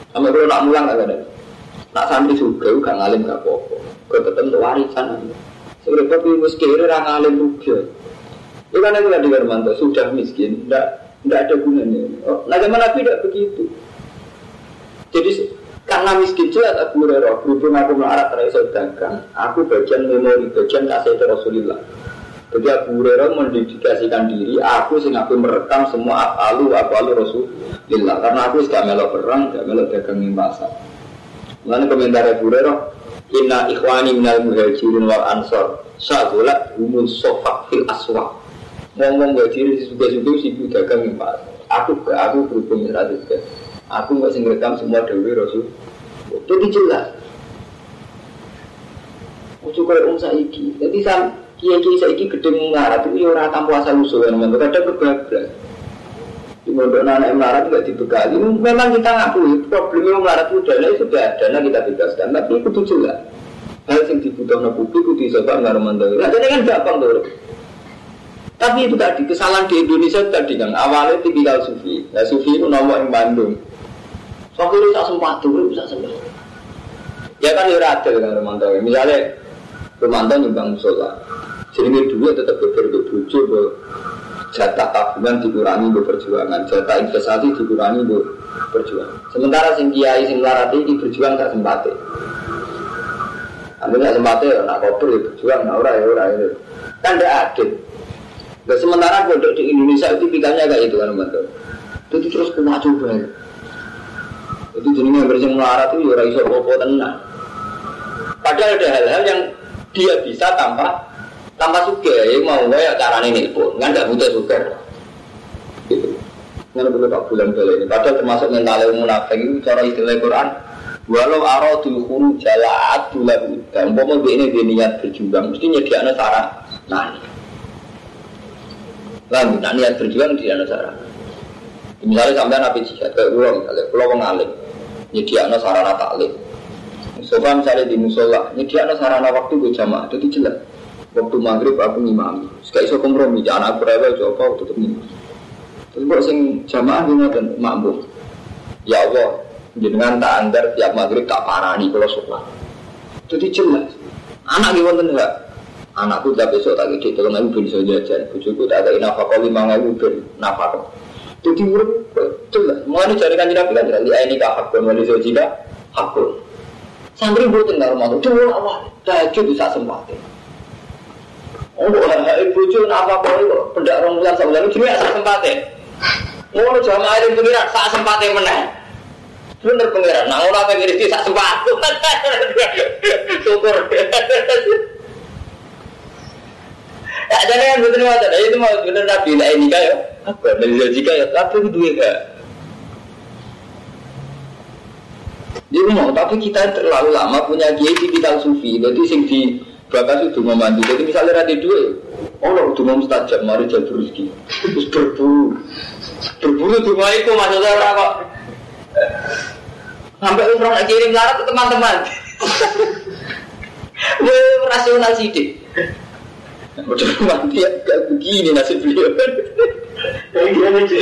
B: Sampai kalau nak mulang agak ada. Nak santri juga gak ngalim gak apa-apa. Kau tetap untuk warisan. Sebenarnya tapi miskin orang ngalim juga. Itu kan itu tadi Hermanto sudah miskin, tidak tidak ada gunanya. Oh, nah zaman Nabi tidak begitu. Jadi karena miskin jelas Abu Hurairah berhubung aku melarat terasa dagang. Aku bagian memori, bagian kasih Rasulullah. Jadi Abu Hurairah mendedikasikan diri. Aku sing aku merekam semua apalu apalu Rasulullah. Karena aku sudah melok perang, sudah melok dagang di pasar. Lalu komentar Abu Hurairah, Inna ikhwani minal muhajirin wal ansor syagulat humus sofak fil aswaq. Ngomong gak diri juga-juga sibuk dagang yang pas. Aku ke aku berhubung seratus ke. Aku nggak singrekam semua dewi Rasul. Itu jelas. Ucap kalau om saiki. Jadi sam kiai-kiai saiki gedeng melarat itu orang tanpa asal usul yang memang ada kebablas. Di mondok anak melarat nggak dibekali. Memang kita ngakui problemnya melarat itu dana sudah dana kita bebaskan. Tapi itu jelas. Hal yang dibutuhkan publik itu disebut nggak romantis. Nah jadi kan gampang tuh. Tapi itu tadi kesalahan di Indonesia tadi kan awalnya tipikal sufi. Nah sufi itu nomor yang Bandung. Soalnya itu tak sempat tuh, bisa sempat. Ya kan ya radel kan Romanto. Misalnya Romanto nyumbang musola, jadi duit tetap berbeda bujuk, jatah tabungan dikurangi berperjuangan, jatah investasi dikurangi berperjuangan. Sementara sing kiai sing larat ini berjuang tak sempatnya. Ambil tak sempatnya, nak koper ya berjuang, nak ora ya ora itu. Kan tidak adil. Nah, sementara pondok di Indonesia itu tipikalnya kayak itu kan Romanto. Jadi terus kena coba. Jadi jenisnya bersih melarat itu ya iso popo tenang. Padahal ada hal-hal yang dia bisa tanpa tanpa suka. Ya mau nggak ya caranya nelpon, kan nggak butuh suka. Gitu. Nggak perlu tak bulan kali ini. Padahal termasuk mental munafik itu cara istilah Quran. Walau aradul khuru jalaat bulan dan umpama ini dia niat berjuang, mesti nyediakan sarana. Nah, lalu nak niat berjuang dia ada sarana. Misalnya sampai nabi jihad ke uang, misalnya pulau pengalim, nyediakan sarana taklim. Sofa misalnya di musola, nyediakan sarana waktu berjamaah, itu jelas. Waktu maghrib aku ngimami, sekali so kompromi, jangan aku rewel coba tetap ngimami. Terus kalau sing jamaah ini dan makmum, ya Allah, jenengan tak anggar tiap maghrib tak parani kalau sholat. Jadi jelas. Anak gimana enggak? Anakku tak besok tak gede, kalau aku bisa jajan, bujuku tak ada nafkah lima ribu ben nafkah. Jadi urut jelas. Mulai cari kanji nabi kan jelas. Di ini kah hakun, wali sojika hakun. Santri buatin nggak rumah tu, cuma awal tahajud bisa sempatnya. Oh, hai bujuk nafkah kau itu pendak rombulan sebulan itu cuma sempatnya. Mau jamaah itu pengiran saat sempatnya menang. Bener pengiran. Nah orang pengiran itu saat sempat. Syukur. Tak ada yang betul macam itu mau betul nabi lah ini kaya. Apa dari jika ya tapi itu juga. Dia mau tapi kita terlalu lama punya kiai tipikal sufi. Jadi sing di bakas itu memandu. Jadi misalnya ada dua, oh lo udah mau mustajab mari jadi rezeki. Terus berburu, berburu tuh mau ikut maksudnya orang kok. Sampai umroh nak kirim larat ke teman-teman. Wah rasional sidik. Macam mati ya, gak begini nasib beliau. Kayak gimana sih?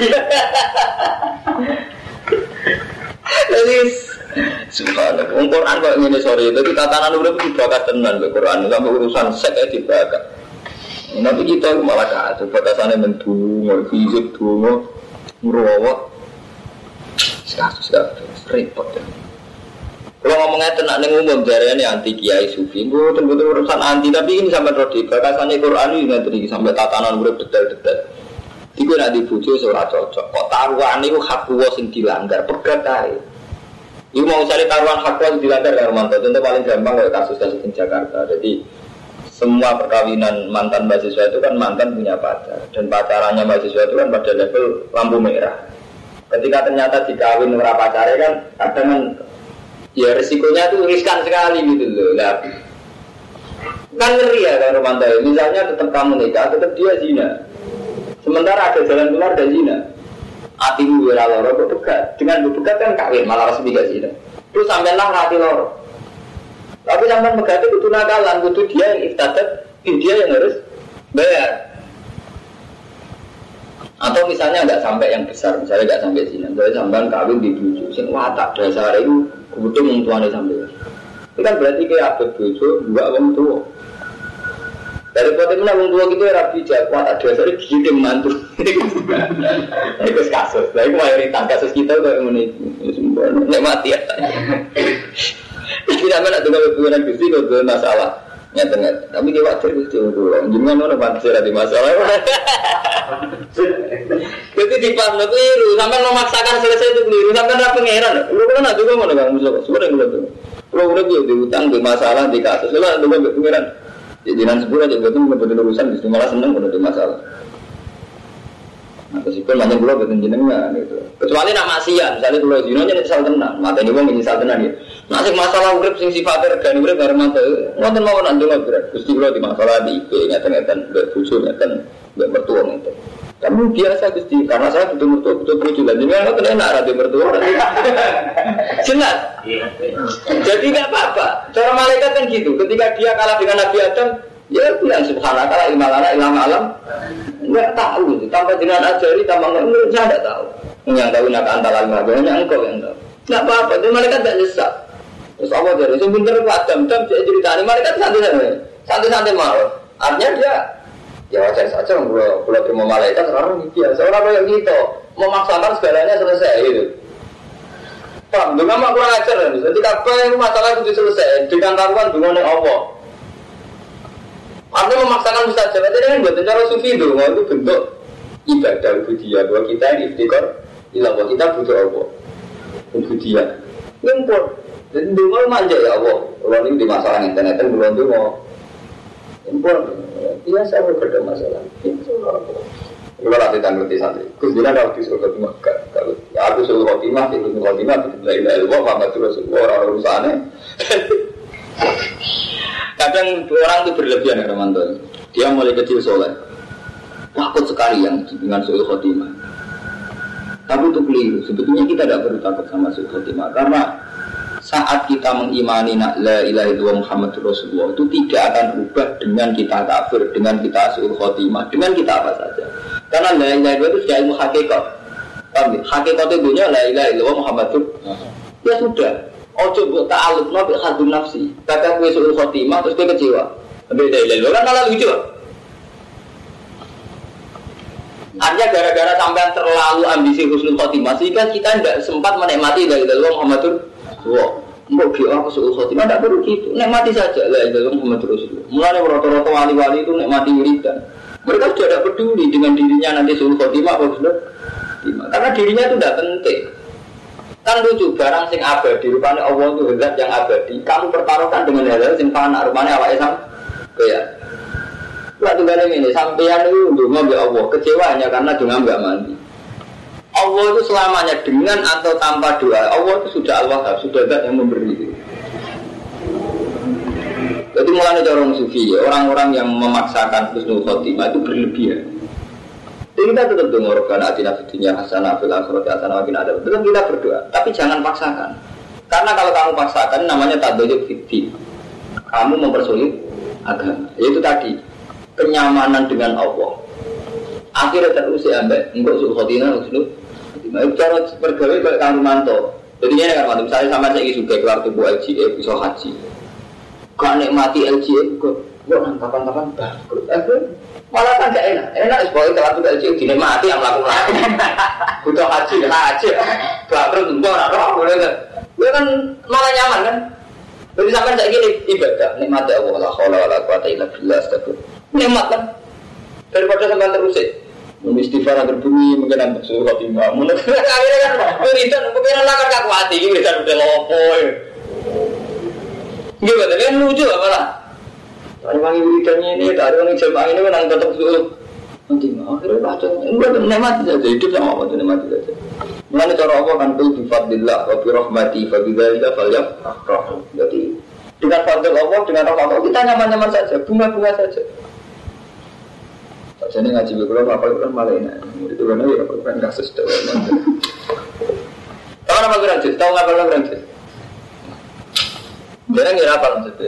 B: Jadi, subhanallah. Quran kok ini sorry. Tapi tatanan udah dibakar tenan be Quran. Sampai urusan seks aja dibakar. Nanti kita malah kacau. Batasannya mendungo, fisik dungo, merawat. Sekarang repot ya. Kalau ngomongnya tenang nih umum jarinya anti kiai sufi, betul-betul urusan anti. Tapi ini sampai rodi bakasannya Quran ini nanti sampai tatanan udah detail-detail. Iku nak dibujuk seorang cocok. Kok taruhan itu hak kuwo sing dilanggar pegat ae. Iku mau cari taruhan hak kuwo dilanggar karo mantan. Contoh paling gampang kayak kasus-kasus di Jakarta. Jadi semua perkawinan mantan mahasiswa itu kan mantan punya pacar dan pacarannya mahasiswa itu kan pada level lampu merah. Ketika ternyata dikawin ora pacare kan kadang kan ya risikonya tuh riskan sekali gitu loh. Nah, kan ngeri ya kan Romanto. Misalnya tetap kamu nikah, tetap dia zina. Sementara ada jalan keluar dari zina. Hatimu wira loro kok pegat. Dengan bepegat kan kawin malah resmi gak zina. Terus sampailah hati loro. Tapi sampai pegat itu kudu nakalan, kudu dia yang iftadat, dia yang harus bayar. Atau misalnya nggak sampai yang besar, misalnya nggak sampai zina, misalnya sampean kawin di bojo, sing watak dasar itu kebetulan wong tuane sampean. Itu kan berarti kayak abad bojo dua wong tua. Dari poten mana wong tua gitu rapi jak watak dasar gigit mantu. Itu kasus. Lah itu mayoritas kasus kita kok ngene iki. Nek mati ya. Tidak mana dengan hubungan Gusti kok masalah. Nyata-nyata. Tapi dia wajar Gusti ngono. Jenengan ono pantes ada masalah. Jadi di pas lo keliru, sampai memaksakan selesai itu keliru, sampai ada pangeran. Lu kan ada juga mana bang Mustafa? Sudah nggak tuh. Lu udah dia diutang, di masalah, di kasus, lu ada juga pangeran. Jadi nanti sebulan aja betul betul urusan, justru malah seneng udah di masalah. Nah, meskipun banyak pulau betul jenengnya gitu. Kecuali nak maksiat, misalnya pulau Zino nya nyesal tenang, mata ini wong nyesal tenang ya. Masih masalah urip sing sifatnya regani urip bareng mata, ngoten mau nanti nggak berat. Gusti pulau di masalah di I P, ngeten-ngeten, berbujur ngeten, bermertua ngeten. Kamu biasa Gusti, karena saya butuh mertua, butuh bucu dan jadi nggak kena enak ada mertua. Jelas. Jadi nggak apa-apa. Cara malaikat kan gitu. Ketika dia kalah dengan Nabi Adam, dia bilang subhanallah, ilmalana, ilham alam. Nggak tahu itu. Tanpa dengan ajari, tanpa nggak, saya nggak tahu. Yang tahu nak antara lima, hanya engkau yang tahu. Nggak apa-apa. Itu malaikat tak nyesat. Terus Allah jadi sebentar Adam, Adam cerita ini malaikat santai-santai, santai-santai mau. Artinya dia ya wajar saja kalau kalau terima malaikat orang biasa orang yang gitu memaksakan segalanya selesai gitu. Paham? Dengan mak kurang ajar kan? Jadi apa yang masalah itu selesai dengan taruhan dengan Allah. Artinya memaksakan mustajab. Jadi kan buat cara sufi itu, itu bentuk ibadah budaya bahwa kita ini iftikar ilah bahwa kita butuh Allah. Budaya. Ngumpul. Jadi dulu manja ya Allah. Kalau ini di masalah internet kan belum dulu mau. Ngumpul. Biasa berada masalah. Kalau nanti tanggung di santri, kusdina kalau di surga timah, kalau aku suruh khotimah, itu suruh khotimah, itu tidak ilah ilmu, Muhammad Rasulullah orang urusannya. Kadang orang itu berlebihan ya teman-teman. Dia mulai kecil soleh, takut sekali yang dengan suruh khotimah. Tapi itu keliru. Sebetulnya kita tidak perlu takut sama suruh khotimah, karena saat kita mengimani la ilaha illallah Muhammadur Rasulullah itu tidak akan berubah dengan kita kafir, dengan kita suul khotimah, dengan kita apa saja. Karena la ilaha illallah itu sudah ilmu hakikat. Paham? Hakikat itu dunia la ilaha illallah Muhammadur. Ya sudah. Ojo mbok ta'alluq nabi hadun nafsi. Kata kowe suul khotimah terus kowe kecewa. Beda la ilaha kan malah lucu. Artinya gara-gara sampean terlalu ambisi husnul khotimah sehingga kita tidak sempat menikmati la ilaha illallah Muhammadur. Wah, mbok dia aku suul khotimah tidak perlu gitu. Nikmati saja la ilaha illallah Muhammadur Rasulullah. Mulane rata-rata wali-wali itu nikmati wiridan. Mereka sudah tidak peduli dengan dirinya nanti suul khotimah apa sudah. Karena dirinya itu tidak penting. Kan lucu barang sing abadi rupanya Allah itu zat yang abadi. Kamu pertaruhkan dengan hal-hal sing fana rupanya awake sam. Ya. Waktu kali ini sampeyan itu ndonga mbek Allah, kecewa hanya karena donga mbak mandi. Allah itu selamanya dengan atau tanpa doa. Allah itu sudah Al-Wahhab, sudah zat yang memberi. Jadi mulai dari orang sufi, orang-orang yang memaksakan husnul khotimah itu berlebihan. Jadi kita tetap dengar karena atina fidunya hasanah fil akhirati hasanah wa qina adzab. Tetap kita berdoa, tapi jangan paksakan. Karena kalau kamu paksakan namanya tadayyu fid. Kamu mempersulit agama. Yaitu tadi kenyamanan dengan Allah. Akhirnya terusik ambek engko husnul khotimah husnul khotimah. Itu cara bergawe kayak Kang Rumanto. Jadi ini kan mantu saya sama saya juga keluar tubuh L G E bisa haji. Kau nikmati L G E kok kok kapan-kapan bangkrut. Malah kan gak enak. Enak sebagai keluar tubuh L G E dinikmati yang melakukan. Butuh haji kena haji. Bangkrut enggak ora boleh kan. Dia kan malah nyaman kan. Jadi sampai saya gini ibadah nikmati Allah la haula wala quwata illa billah astagfirullah. Nikmat kan. Daripada sampai terus istighfar agar bumi mungkin ada suruh khotimah. Mun akhirnya kan wiridan mungkin lah kan kaku hati iki wiridan udah lopo. Gimana kan lucu apalah. Ada wangi wiridannya ini, ada orang jemaah ini kan tetap suruh khotimah. Akhirnya baca enggak nikmati saja hidup sama apa tuh nikmati saja. Mulane cara apa kan tu bi fadlillah wa bi rahmati fa bidzalika falyafrahu. Jadi dengan fadl Allah, dengan rahmat Allah kita nyaman-nyaman saja, bunga-bunga saja. Jadi ngaji berkurang apa itu kan malah enak. Itu kan ya apa kan kasus tahu. Tahu apa kurang jelas? Tahu apa kurang jelas? Dia ngira apa maksudnya?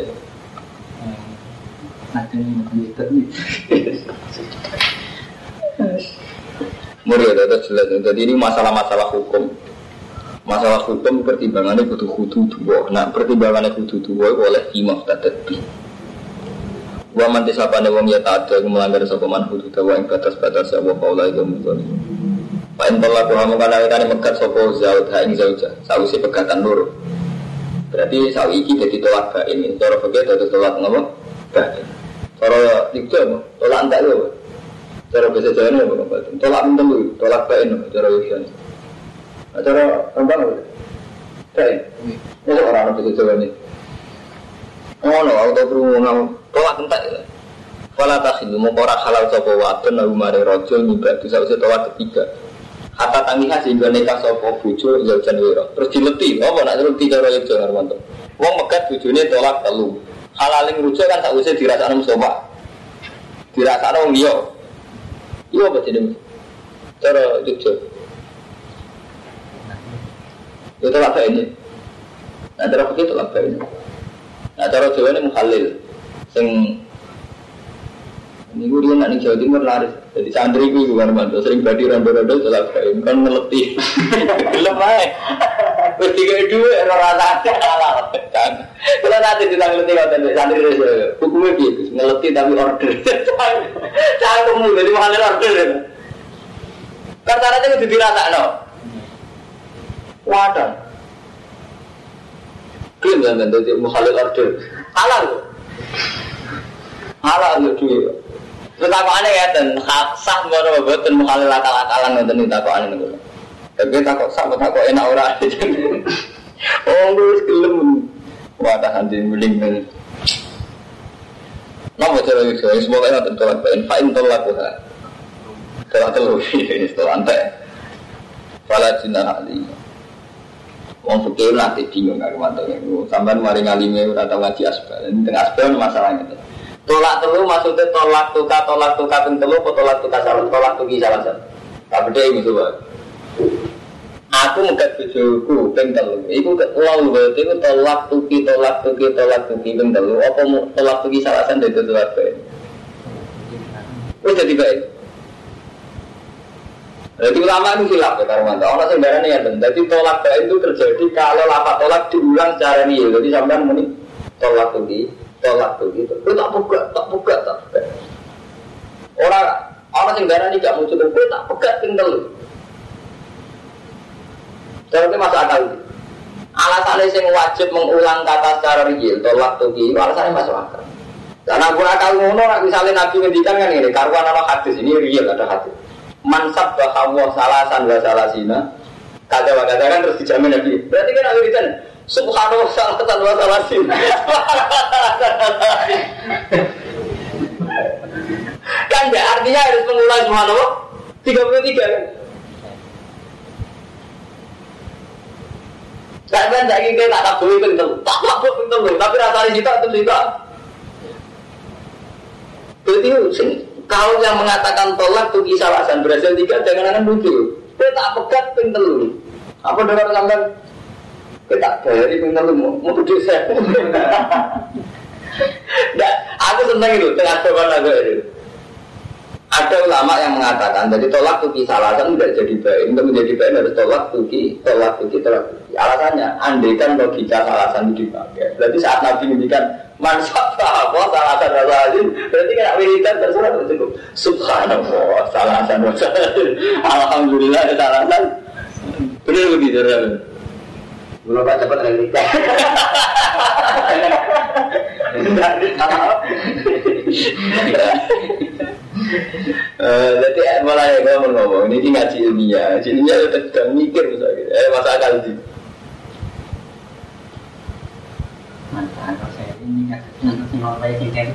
B: Ada yang menjadi Murid itu jelas. Jadi ini masalah-masalah hukum. Masalah hukum pertimbangannya kudu kudu dua. Nah pertimbangannya kudu dua oleh imam tadi. Wa man tisabane wong ya ta'adda melanggar sapa man hudud wa ing batas-batas ya wa qaula itu mungkin. Pak entolak kamu kana kana megat sapa zaud ha ing zauja. Sawise pegatan loro. Berarti sawi iki dadi tolak bae ini. Cara fikih dadi tolak ngopo? Bae. Cara dikjo tolak entek lho. Cara bahasa Jawa ini apa? Tolak mentelu, tolak bae no cara iki. Cara rembang lho. Bae. Ini orang bahasa Jawa ini. Oh no, auto perungu tolak entek. Fala takhilu mukora halal sapa wadon lalu mare rajul nyibak dosa usah tolak ketiga. Hatta tangiha sehingga nikah sapa bojo ya jan wira. Terus dileti, apa nak dileti cara yo Harmanto. Wong megat bojone tolak telu. Halaling rujuk kan sakwise dirasakno Mustofa. Dirasakno wong liya. Iya apa jenenge? Cara Jogja. Itu tolak bae ini. Nah, cara begitu tolak bae ini. Nah, cara Jawa ini mukhalil. Sing ini gue dia nak nih Jawa Timur laris. Jadi santri gue juga Armanto sering badi rondo-rondo tolak bae kan ngeleti. Gelem ae. Wis tiga dua ora rata halal. Kalau nanti kita ngeleti ngoten santri Jawa. Hukumnya piye? Ngeleti tapi order. Cangkemmu jadi mukhalil order. Kan syaratnya kudu dirasakno. Wadah. Klaim kan jadi mukhalil order. Halal. Halal yo duwe. Tetakane ya ten hak sah ngono mboten mukhalil akal-akalan ngoten tetakane niku. Tapi takok sak takok enak ora. Oh wis gelem. Wadah anjing mending men. Napa cara iso semoga ana tolak bae fa'in tolak ha. Tolak telu iki tolak ante. Fala jinah ali. Wong fikih nanti bingung karo mantene. Sampeyan mari ngalime ora tau ngaji asbal. Teng asbal masalahnya. Tolak telu maksudnya tolak tuka tolak tuka ping telu atau tolak tuka salah tolak tuki salah satu. Tak beda iki coba. Aku megat bojoku ping telu. Iku lalu berarti iku tolak tuki tolak tuki tolak tuki ping telu apa tolak tuki salah satu itu tolak bae. Wis dadi bae. Jadi ulama itu silap ya Karmanto. Orang sembarangan ya ben. Jadi tolak bae itu terjadi kalau lafaz tolak diulang secara real. Jadi sampean muni tolak tuki tolak begitu, itu tak pegat, tak pegat, tak pegat. Orang orang yang darah ini gak muncul, itu tak pegat tinggal. Jadi masuk akal. Alasannya yang wajib mengulang kata secara real, tolak tuki, alasannya masuk akal. Karena gua akal ngono, misalnya Nabi ngendikan kan ini, karuan ana hadis ini real ada hadis. Mansab bahwa salasan wa salasina, kata-kata kan terus dijamin Nabi. Berarti kan Nabi itu subhanallah salatan wa salasin. Kan ya artinya harus mengulang subhanallah tiga puluh tiga kan. Sampai tak ingin tak tabu itu tentu, tak tabu itu tentu, tapi rasanya kita itu juga. Berarti kalau yang mengatakan tolak tuh kisah alasan berhasil tiga jangan-jangan muncul. Kita tak pegat pintel. Apa dengar sampai kita dari pinter lu mau tujuh saya. Nah, aku senang itu dengan jawaban aku itu. Ada ulama yang mengatakan jadi tolak tuki salasan tidak jadi baik. Untuk menjadi baik harus tolak tuki, tolak tuki, tolak tuki. Alasannya, andaikan logika salasan itu dipakai. Berarti saat Nabi menjadikan mansab apa salasan salasin, berarti kan wiridan terserah cukup. Subhanallah salasan salasin. Alhamdulillah salasan. Benar begitu kan? Belum pak cepat realitas. Jadi mulai ngomong-ngomong ini ngaji ilmiah, ngaji ilmiah udah sedang mikir misalnya. Eh masa akal sih.
C: Masa akal saya ini nggak mulai singkat.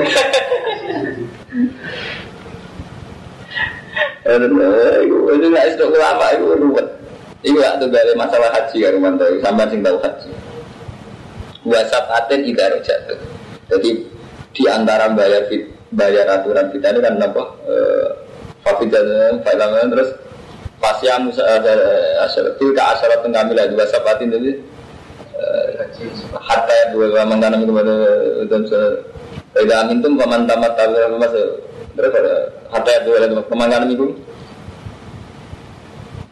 B: Eh, itu nggak istok apa itu ruwet. Iku lah tuh dari masalah haji ya Romanto, sampai sing tahu haji. Wasap aten idaro jatuh. Jadi di antara bayar bayar aturan kita ini kan apa? Fafidan, fafidan terus pasiam asal tilka asal tenggamila dua sapatin jadi hatta dua mantanam kepada dan tidak mintum paman tamat tamat masuk terus hatta dua mantanam itu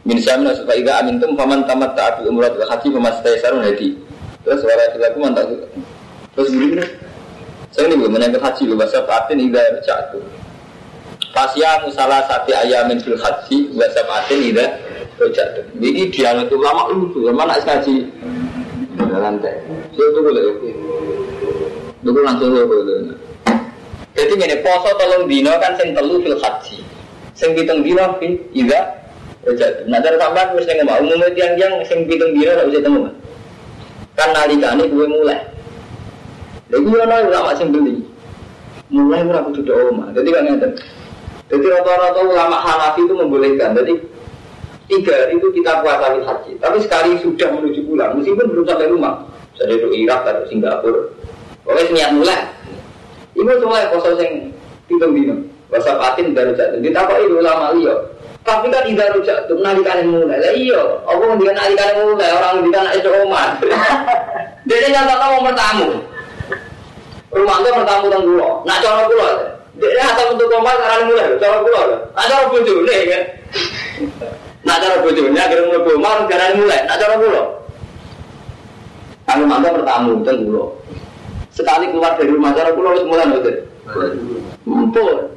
B: Min samna supaya ida amintum faman tamat ta'abil umrah wa haji famastaysarun hadi. Terus wala dilaku mantap. Terus begini. Saya ini menyangkut haji bahasa patin ida jatuh. Fasya musalah sati ayamin fil haji bahasa patin ida jatuh. Ini dialog ulama itu mana haji dalam teh. Saya tunggu lagi. Tunggu langsung boleh. Jadi ini poso tolong dino kan sing telu fil haji. Sing pitung dino fi ida jatuh. Nah cara sampean wis ning omah umumnya tiang-tiang sing pitung dino ora usah temu. Kan nalikane kuwe mulai. Lha iki ana ulama sing beli. Mulai ora kudu do omah. Dadi kan ngeten. Dadi rata-rata ulama Hanafi itu membolehkan. Jadi tiga hari itu kita puasa haji. Tapi sekali sudah menuju pulang, meskipun belum sampai rumah. Jadi do Irak atau Singapura. Pokoknya niat mulai. Iku mulai poso sing pitung dino. Puasa patin baru jatuh. Ditakoki ulama liya. Tapi kan ida rujak tuh nalikane mulai. Lah iya, apa ngendikan nalikane mulai orang ngendikan nek omah. Dene nyata mau bertamu. Rumah itu bertamu teng kula. Nak cara kula. Dene asal untuk omah karane mulai cara kula. Nak cara bojone kan. Nak cara bojone agar mlebu omah karane mulai. Nak cara kula. Aku mangga bertamu teng kula. Sekali keluar dari rumah cara kula wis mulai mboten. Mumpul.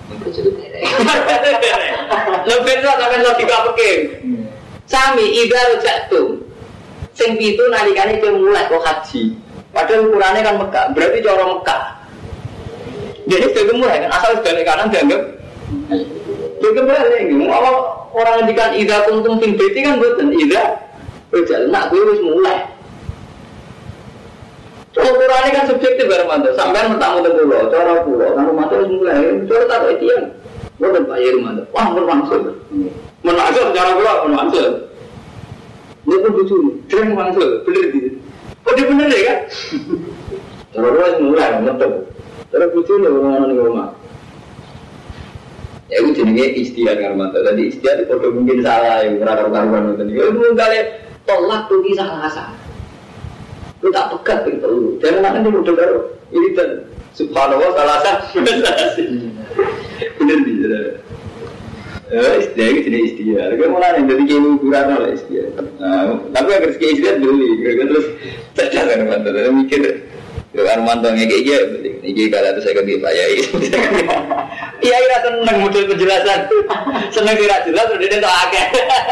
B: Lebih lah sampai logika peking. Sami ida jatuh. Sing pitu nalikane ke mulai kok haji. Padahal ukurannya kan Mekah, berarti cara Mekah. Jadi sudah mulai kan asal sebalik kanan dianggap. Jadi balik gitu. Kalau orang ngendikan ida kuntum fil baiti kan mboten ida berjalan nak kuwi wis mulai. Ukurannya kan subjektif Hermanto, sampean bertamu teng kula, cara kula, kan Hermanto wis mulai, cara tak kok tiyang. Mboten Pak Hermanto. Wah, bermaksud. Menaksud cara kula bermaksud. Niku lucu, dereng maksud, bener iki. Kok dia bener ya kan? Cara kula wis mulai metu. Cara bojone ora ning omah. Ya itu jenenge istihad Hermanto. Dadi istihad itu padha mungkin salah, ora karo-karuan ngoten iki. Mung kali tolak tuh salah salah. Lu tak pegat begitu lu. Jangan nanti udah baru ini dan subhanallah salah sah. Bener dia. Eh, istilah itu jenis istilah. Kalau mana yang jadi kini ukuran lah istilah. Tapi agar sekali istilah beli. Terus cerdas kan mantan. Saya mikir, kalau mantan kayak gini, ini kalau itu saya ganti Pak Yai. Iya, iya seneng model penjelasan. Seneng tidak jelas, udah dia tak akeh.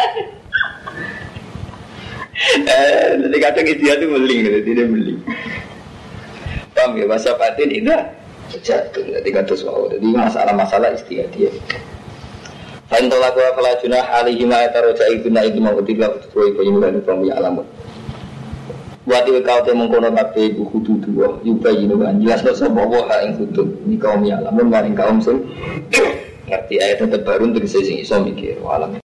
B: Eh, nanti kadang istilah itu meling, tidak meling. Paham ya, bahasa batin itu jatuh, nanti kata soal. Jadi masalah-masalah istilah dia. Fain tolaku falajuna alihi ma'ataroja ibuna itu ma'utiklah utuwa ibu yulan ibu alamun. Wati kau te mengkono kabeh ibu kudu dua, yubayinukan jelas no sapa wa ing kudu ni kaum ya alamun maring kaum sing ngerti ayat terbaru untuk sing iso mikir alam.